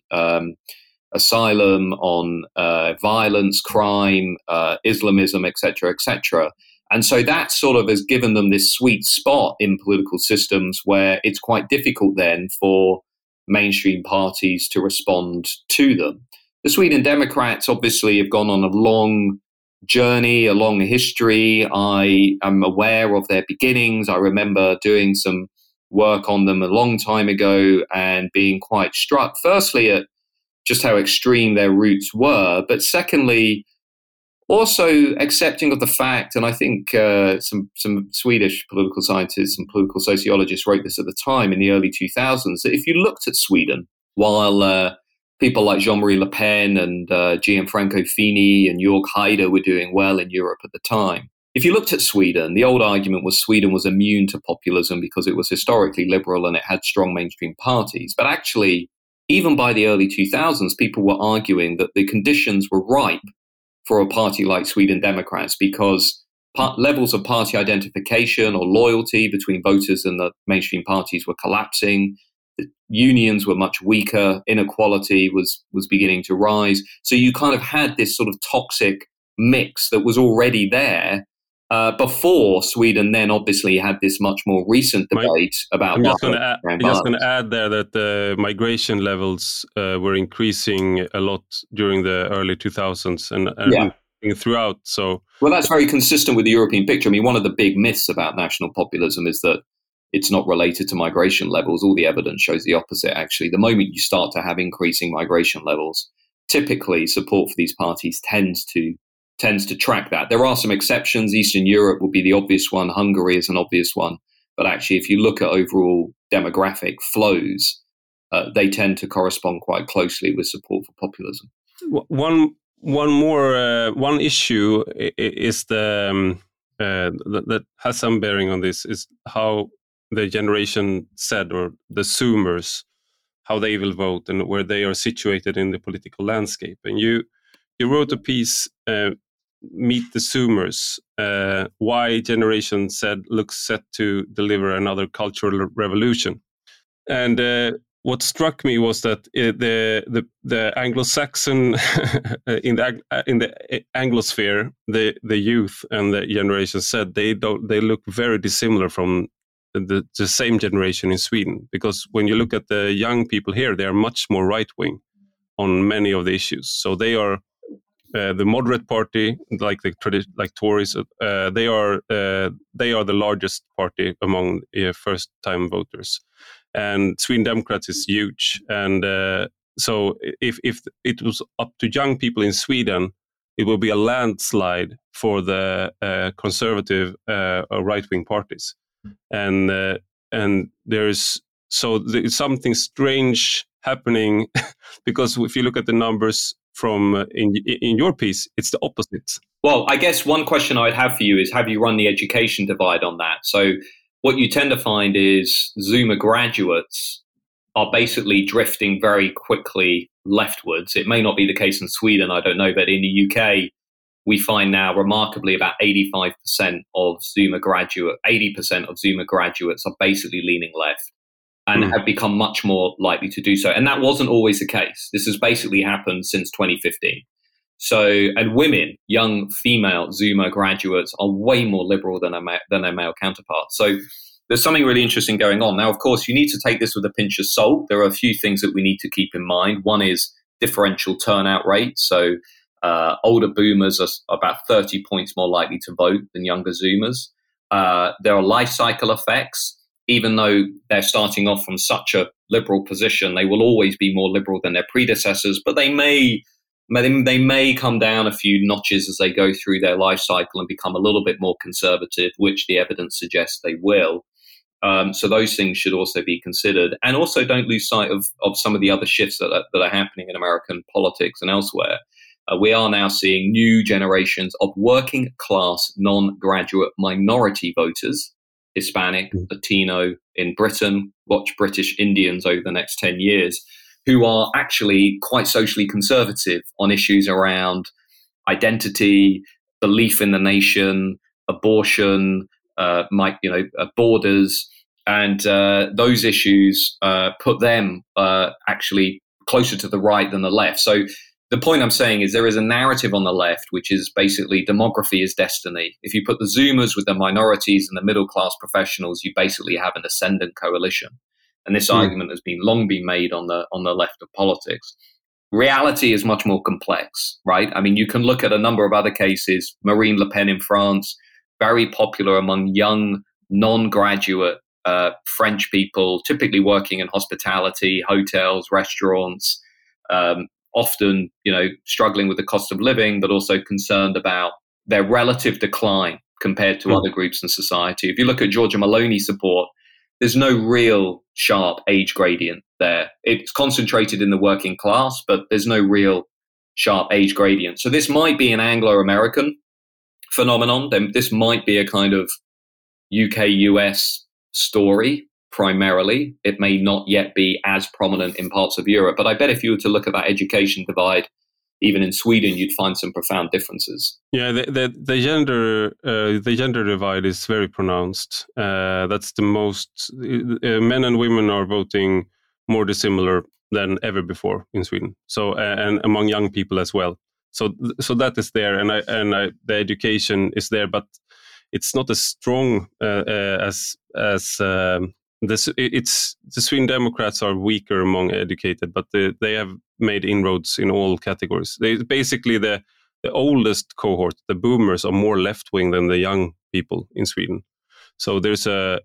asylum, on violence, crime, Islamism, etc., etc. And so that sort of has given them this sweet spot in political systems where it's quite difficult then for mainstream parties to respond to them. The Sweden Democrats obviously have gone on a long journey, a long history. I am aware of their beginnings. I remember doing some work on them a long time ago and being quite struck, firstly, at just how extreme their roots were, but secondly, also accepting of the fact, and I think some Swedish political scientists and political sociologists wrote this at the time in the early 2000s, that if you looked at Sweden, while people like Jean-Marie Le Pen and Gianfranco Fini and Jörg Haider were doing well in Europe at the time, if you looked at Sweden, the old argument was Sweden was immune to populism because it was historically liberal and it had strong mainstream parties. But actually, even by the early 2000s, people were arguing that the conditions were ripe for a party like Sweden Democrats because levels of party identification or loyalty between voters and the mainstream parties were collapsing. The unions were much weaker. Inequality was beginning to rise. So you kind of had this sort of toxic mix that was already there before Sweden then obviously had this much more recent debate about... I'm just going to add there that the migration levels were increasing a lot during the early 2000s and throughout. So, well, that's very consistent with the European picture. I mean, one of the big myths about national populism is that it's not related to migration levels. All the evidence shows the opposite, actually. The moment you start to have increasing migration levels, typically support for these parties tends to track that. There are some exceptions. Eastern Europe would be the obvious one. Hungary is an obvious one. But actually, if you look at overall demographic flows, they tend to correspond quite closely with support for populism. One issue is that has some bearing on this is how the Generation Z or the Zoomers, how they will vote and where they are situated in the political landscape. And you wrote a piece, Meet the Zoomers, why Generation Z looks set to deliver another cultural revolution. And what struck me was that the Anglo-Saxon in the Anglosphere, the youth and the Generation Z, they look very dissimilar from the same generation in Sweden, because when you look at the young people here, they are much more right-wing on many of the issues. So they are the moderate party, like Tories. They are the largest party among first-time voters, and Sweden Democrats is huge. And so if it was up to young people in Sweden it will be a landslide for the conservative right-wing parties, and there's something strange happening because if you look at the numbers from in your piece, it's the opposite. Well, I guess one question I'd have for you is, have you run the education divide on that? So what you tend to find is Zuma graduates are basically drifting very quickly leftwards. It may not be the case in Sweden, I don't know, but in the UK, we find now remarkably about 85% of Zuma 80% of Zuma graduates are basically leaning left and have become much more likely to do so. And that wasn't always the case. This has basically happened since 2015. So, and women, young female Zuma graduates are way more liberal than their male counterparts. So there's something really interesting going on. Now, of course, you need to take this with a pinch of salt. There are a few things that we need to keep in mind. One is differential turnout rate. So older boomers are about 30 points more likely to vote than younger Zoomers. There are life cycle effects. Even though they're starting off from such a liberal position, they will always be more liberal than their predecessors, but they may come down a few notches as they go through their life cycle and become a little bit more conservative, which the evidence suggests they will. So those things should also be considered. And also don't lose sight of some of the other shifts that are happening in American politics and elsewhere. We are now seeing new generations of working class, non-graduate minority voters, Hispanic, Latino in Britain, watch British Indians over the next 10 years, who are actually quite socially conservative on issues around identity, belief in the nation, abortion, borders, and those issues put them actually closer to the right than the left. So the point I'm saying is there is a narrative on the left, which is basically demography is destiny. If you put the Zoomers with the minorities and the middle-class professionals, you basically have an ascendant coalition. And this argument has long been made on the left of politics. Reality is much more complex, right? I mean, you can look at a number of other cases. Marine Le Pen in France, very popular among young, non-graduate French people, typically working in hospitality, hotels, restaurants, often, struggling with the cost of living, but also concerned about their relative decline compared to other groups in society. If you look at Giorgia Meloni support, there's no real sharp age gradient there. It's concentrated in the working class, but there's no real sharp age gradient. So this might be an Anglo-American phenomenon. Then this might be a kind of UK-US story primarily. It may not yet be as prominent in parts of Europe. But I bet if you were to look at that education divide, even in Sweden, you'd find some profound differences. Yeah, the gender divide is very pronounced. That's the most. Men and women are voting more dissimilar than ever before in Sweden. So and among young people as well. So that is there, and the education is there, but it's not as strong as the Sweden Democrats are weaker among educated, but they have made inroads in all categories. Basically, the oldest cohort, the boomers, are more left wing than the young people in Sweden. So there's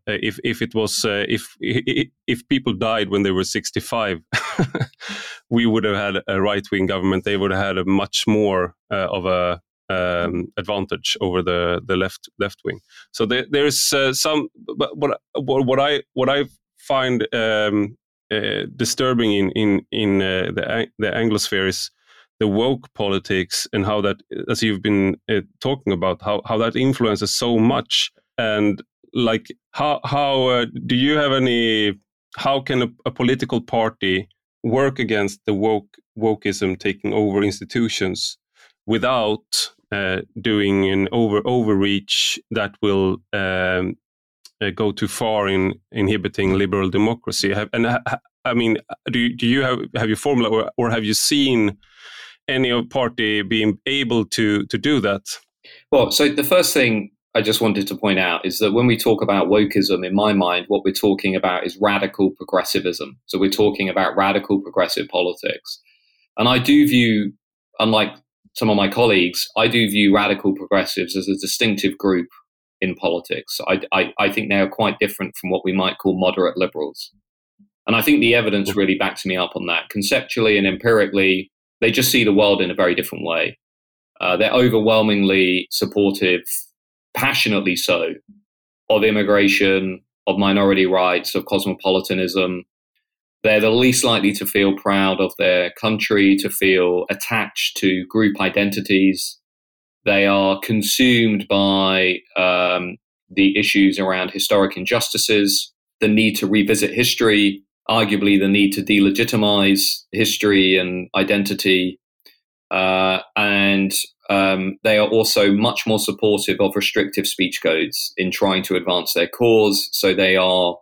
if people died when they were 65, we would have had a right wing government. They would have had a much more of a advantage over the left wing. So there's some. But what I find disturbing in the Anglosphere is the woke politics and how that, as you've been talking about, how that influences so much. And like how do you have any? How can a political party work against the wokeism taking over institutions without doing an overreach that will go too far in inhibiting liberal democracy? I mean, do you have you formula or have you seen any party being able to do that? Well, so the first thing I just wanted to point out is that when we talk about wokeism, in my mind, what we're talking about is radical progressivism. So we're talking about radical progressive politics. And I do view, unlike some of my colleagues, I do view radical progressives as a distinctive group in politics. I think they are quite different from what we might call moderate liberals. And I think the evidence really backs me up on that. Conceptually and empirically, they just see the world in a very different way. They're overwhelmingly supportive, passionately so, of immigration, of minority rights, of cosmopolitanism. They're the least likely to feel proud of their country, to feel attached to group identities. They are consumed by the issues around historic injustices, the need to revisit history, arguably the need to delegitimize history and identity. And they are also much more supportive of restrictive speech codes in trying to advance their cause. So they are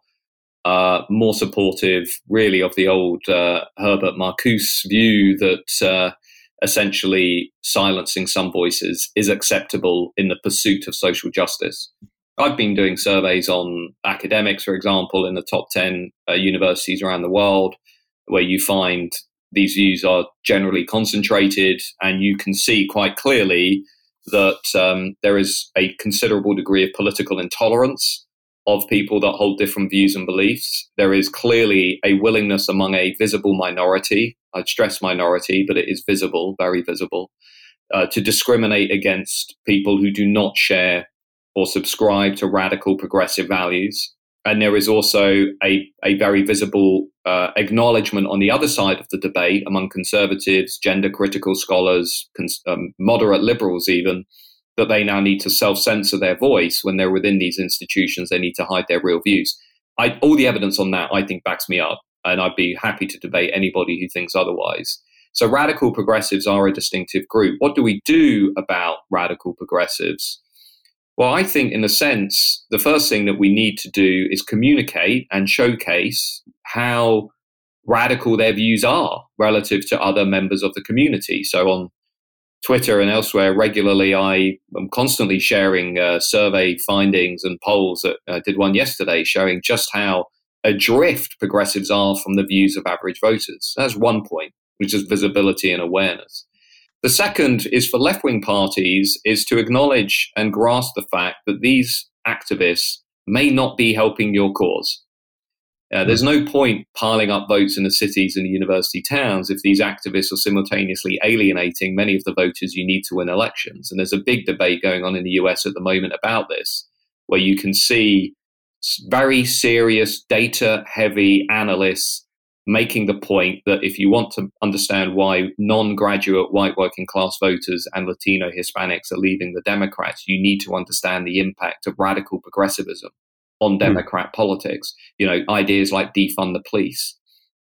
more supportive, really, of the old Herbert Marcuse view that essentially silencing some voices is acceptable in the pursuit of social justice. I've been doing surveys on academics, for example, in the top 10 universities around the world, where you find these views are generally concentrated, and you can see quite clearly that there is a considerable degree of political intolerance of people that hold different views and beliefs. There is clearly a willingness among a visible minority, I'd stress minority, but it is visible, very visible, to discriminate against people who do not share or subscribe to radical progressive values. And there is also a very visible acknowledgement on the other side of the debate among conservatives, gender-critical scholars, moderate liberals even, that they now need to self-censor their voice when they're within these institutions. They need to hide their real views. All the evidence on that, I think, backs me up, and I'd be happy to debate anybody who thinks otherwise. So radical progressives are a distinctive group. What do we do about radical progressives? Well, I think in a sense, the first thing that we need to do is communicate and showcase how radical their views are relative to other members of the community. So on Twitter and elsewhere, regularly, I am constantly sharing survey findings and polls. I did one yesterday showing just how adrift progressives are from the views of average voters. That's one point, which is visibility and awareness. The second is for left-wing parties is to acknowledge and grasp the fact that these activists may not be helping your cause. There's no point piling up votes in the cities and the university towns if these activists are simultaneously alienating many of the voters you need to win elections. And there's a big debate going on in the US at the moment about this, where you can see very serious data-heavy analysts making the point that if you want to understand why non-graduate white working class voters and Latino Hispanics are leaving the Democrats, you need to understand the impact of radical progressivism on Democrat politics. You know, ideas like defund the police,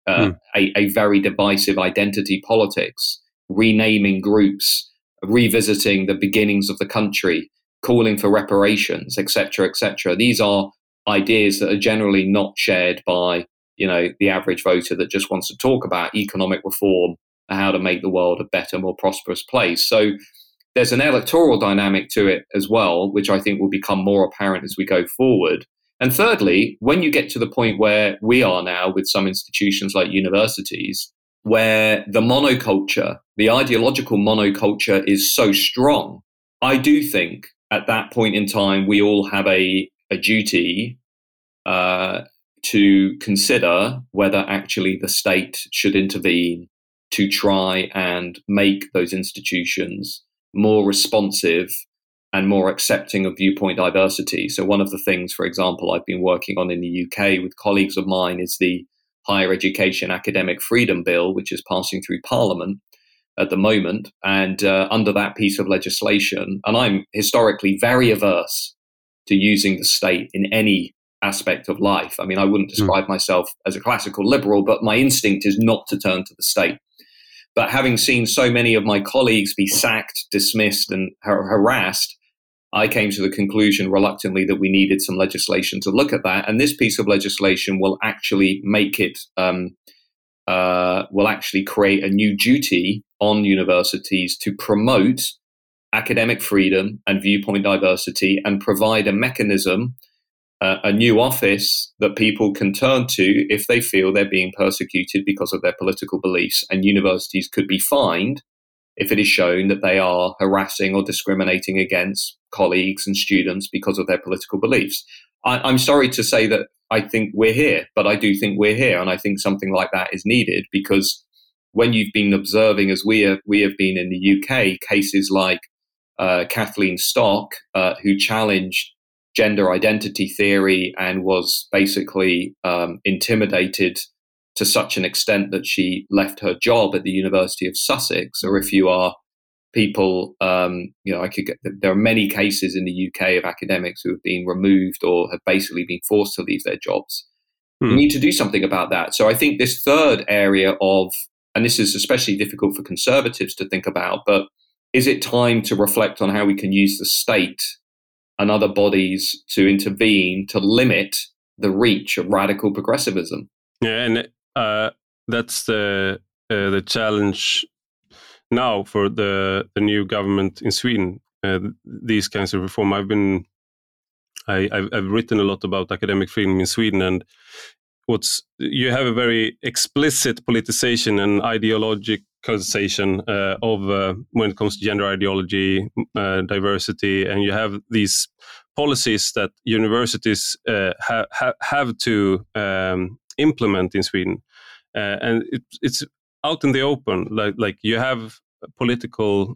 a very divisive identity politics, renaming groups, revisiting the beginnings of the country, calling for reparations, etc., etc. These are ideas that are generally not shared by, you know, the average voter that just wants to talk about economic reform and how to make the world a better, more prosperous place. So there's an electoral dynamic to it as well, which I think will become more apparent as we go forward. And thirdly, when you get to the point where we are now with some institutions like universities, where the monoculture, the ideological monoculture is so strong, I do think at that point in time, we all have a duty to consider whether actually the state should intervene to try and make those institutions more responsive and more accepting of viewpoint diversity. So one of the things, for example, I've been working on in the UK with colleagues of mine is the Higher Education Academic Freedom Bill, which is passing through Parliament at the moment. And under that piece of legislation, and I'm historically very averse to using the state in any aspect of life. I mean, I wouldn't describe myself as a classical liberal, but my instinct is not to turn to the state. But having seen so many of my colleagues be sacked, dismissed, and harassed, I came to the conclusion reluctantly that we needed some legislation to look at that. And this piece of legislation will actually make it, will actually create a new duty on universities to promote academic freedom and viewpoint diversity and provide a mechanism, a new office that people can turn to if they feel they're being persecuted because of their political beliefs. And universities could be fined if it is shown that they are harassing or discriminating against colleagues and students because of their political beliefs. I'm sorry to say that I think we're here, but I do think we're here. And I think something like that is needed because when you've been observing, as we have been in the UK, cases like Kathleen Stock, who challenged gender identity theory and was basically intimidated to such an extent that she left her job at the University of Sussex. Or if you are people, there are many cases in the UK of academics who have been removed or have basically been forced to leave their jobs. We need to do something about that. So I think this third area of, and this is especially difficult for conservatives to think about, but is it time to reflect on how we can use the state and other bodies to intervene to limit the reach of radical progressivism? Yeah, and that's the challenge now for the new government in Sweden. These kinds of reform. I've written a lot about academic freedom in Sweden, and you have a very explicit politicization and ideologicalization of when it comes to gender ideology, diversity, and you have these policies that universities have to implement in Sweden, and it's out in the open. Like you have political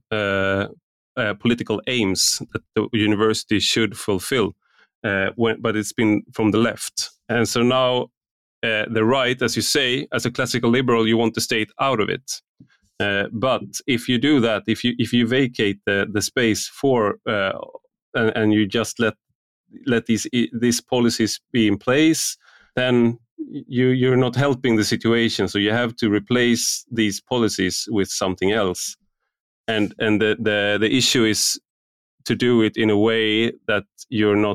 aims that the university should fulfill. But it's been from the left. And so now the right, as you say, as a classical liberal, you want the state out of it. But if you do that, if you vacate the space for and you just let these policies be in place, then you're not helping the situation. So you have to replace these policies with something else. And the issue is to do it in a way that you're not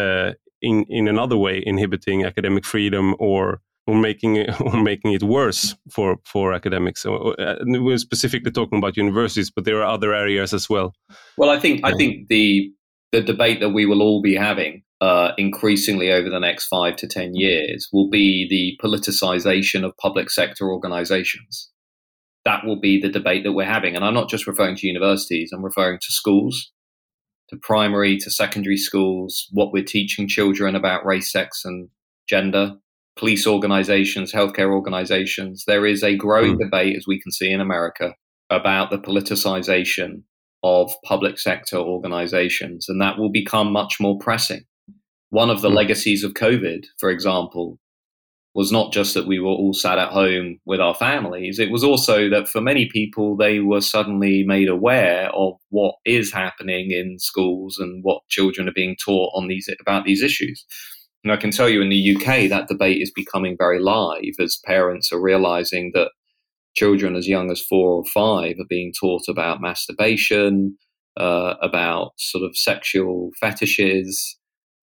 in another way inhibiting academic freedom or making it worse for academics. We're specifically talking about universities, but there are other areas as well. Well, I think the debate that we will all be having increasingly over the next 5 to 10 years will be the politicization of public sector organizations. That will be the debate that we're having. And I'm not just referring to universities, I'm referring to schools, to primary, to secondary schools, what we're teaching children about race, sex, and gender, police organizations, healthcare organizations. There is a growing debate, as we can see in America, about the politicization of public sector organizations, and that will become much more pressing. One of the legacies of COVID, for example, was not just that we were all sat at home with our families. It was also that for many people, they were suddenly made aware of what is happening in schools and what children are being taught about these issues. And I can tell you in the UK, that debate is becoming very live as parents are realizing that children as young as 4 or 5 are being taught about masturbation, about sort of sexual fetishes,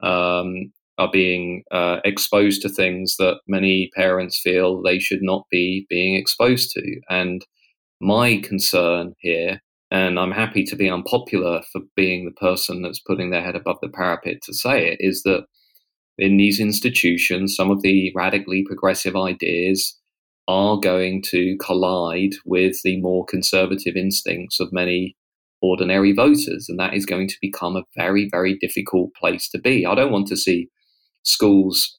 are being exposed to things that many parents feel they should not be being exposed to. And my concern here, and I'm happy to be unpopular for being the person that's putting their head above the parapet to say it, is that in these institutions, some of the radically progressive ideas are going to collide with the more conservative instincts of many ordinary voters. And that is going to become a very, very difficult place to be. I don't want to see schools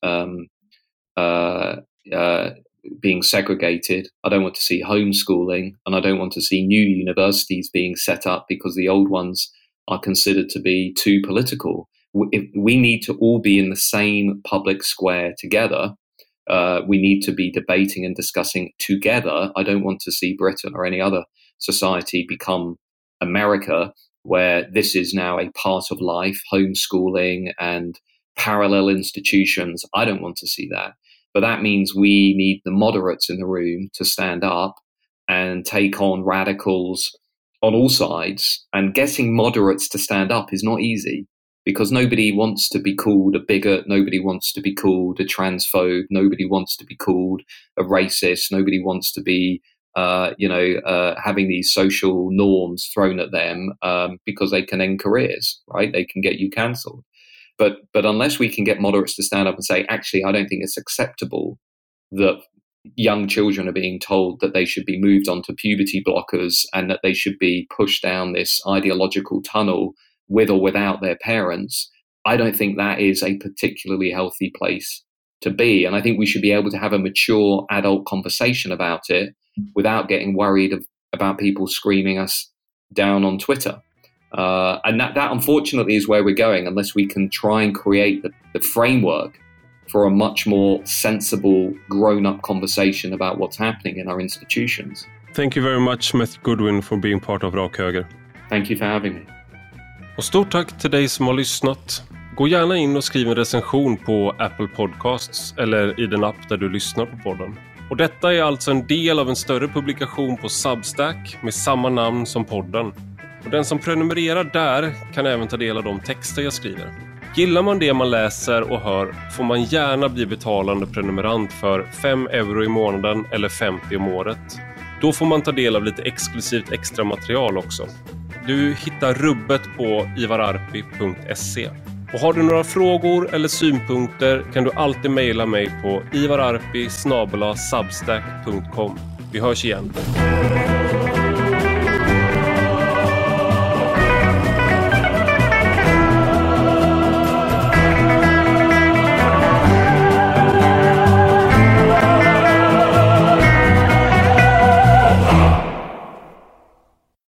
being segregated. I don't want to see homeschooling, and I don't want to see new universities being set up because the old ones are considered to be too political. We need to all be in the same public square together. We need to be debating and discussing together. I don't want to see Britain or any other society become America, where this is now a part of life, homeschooling and parallel institutions. I don't want to see that. But that means we need the moderates in the room to stand up and take on radicals on all sides. And getting moderates to stand up is not easy, because nobody wants to be called a bigot. Nobody wants to be called a transphobe. Nobody wants to be called a racist. Nobody wants to be having these social norms thrown at them because they can end careers, right? They can get you cancelled. But unless we can get moderates to stand up and say, actually, I don't think it's acceptable that young children are being told that they should be moved onto puberty blockers and that they should be pushed down this ideological tunnel with or without their parents, I don't think that is a particularly healthy place to be. And I think we should be able to have a mature adult conversation about it without getting worried about people screaming us down on Twitter. And that unfortunately is where we're going unless we can try and create the framework for a much more sensible, grown-up conversation about what's happening in our institutions. Thank you very much, Matthew Goodwin, for being part of Rak Höger. Thank you for having me. Och stort tack till dig som har lyssnat. Gå gärna in och skriv en recension på Apple Podcasts eller i den app där du lyssnar på podden. Och detta är alltså en del av en större publikation på Substack med samma namn som podden. Och den som prenumererar där kan även ta del av de texter jag skriver. Gillar man det man läser och hör får man gärna bli betalande prenumerant för 5 euro i månaden eller 50 om året. Då får man ta del av lite exklusivt extra material också. Du hittar rubbet på ivararpi.se. Och har du några frågor eller synpunkter kan du alltid mejla mig på ivararpi@substack.com. Vi hörs igen.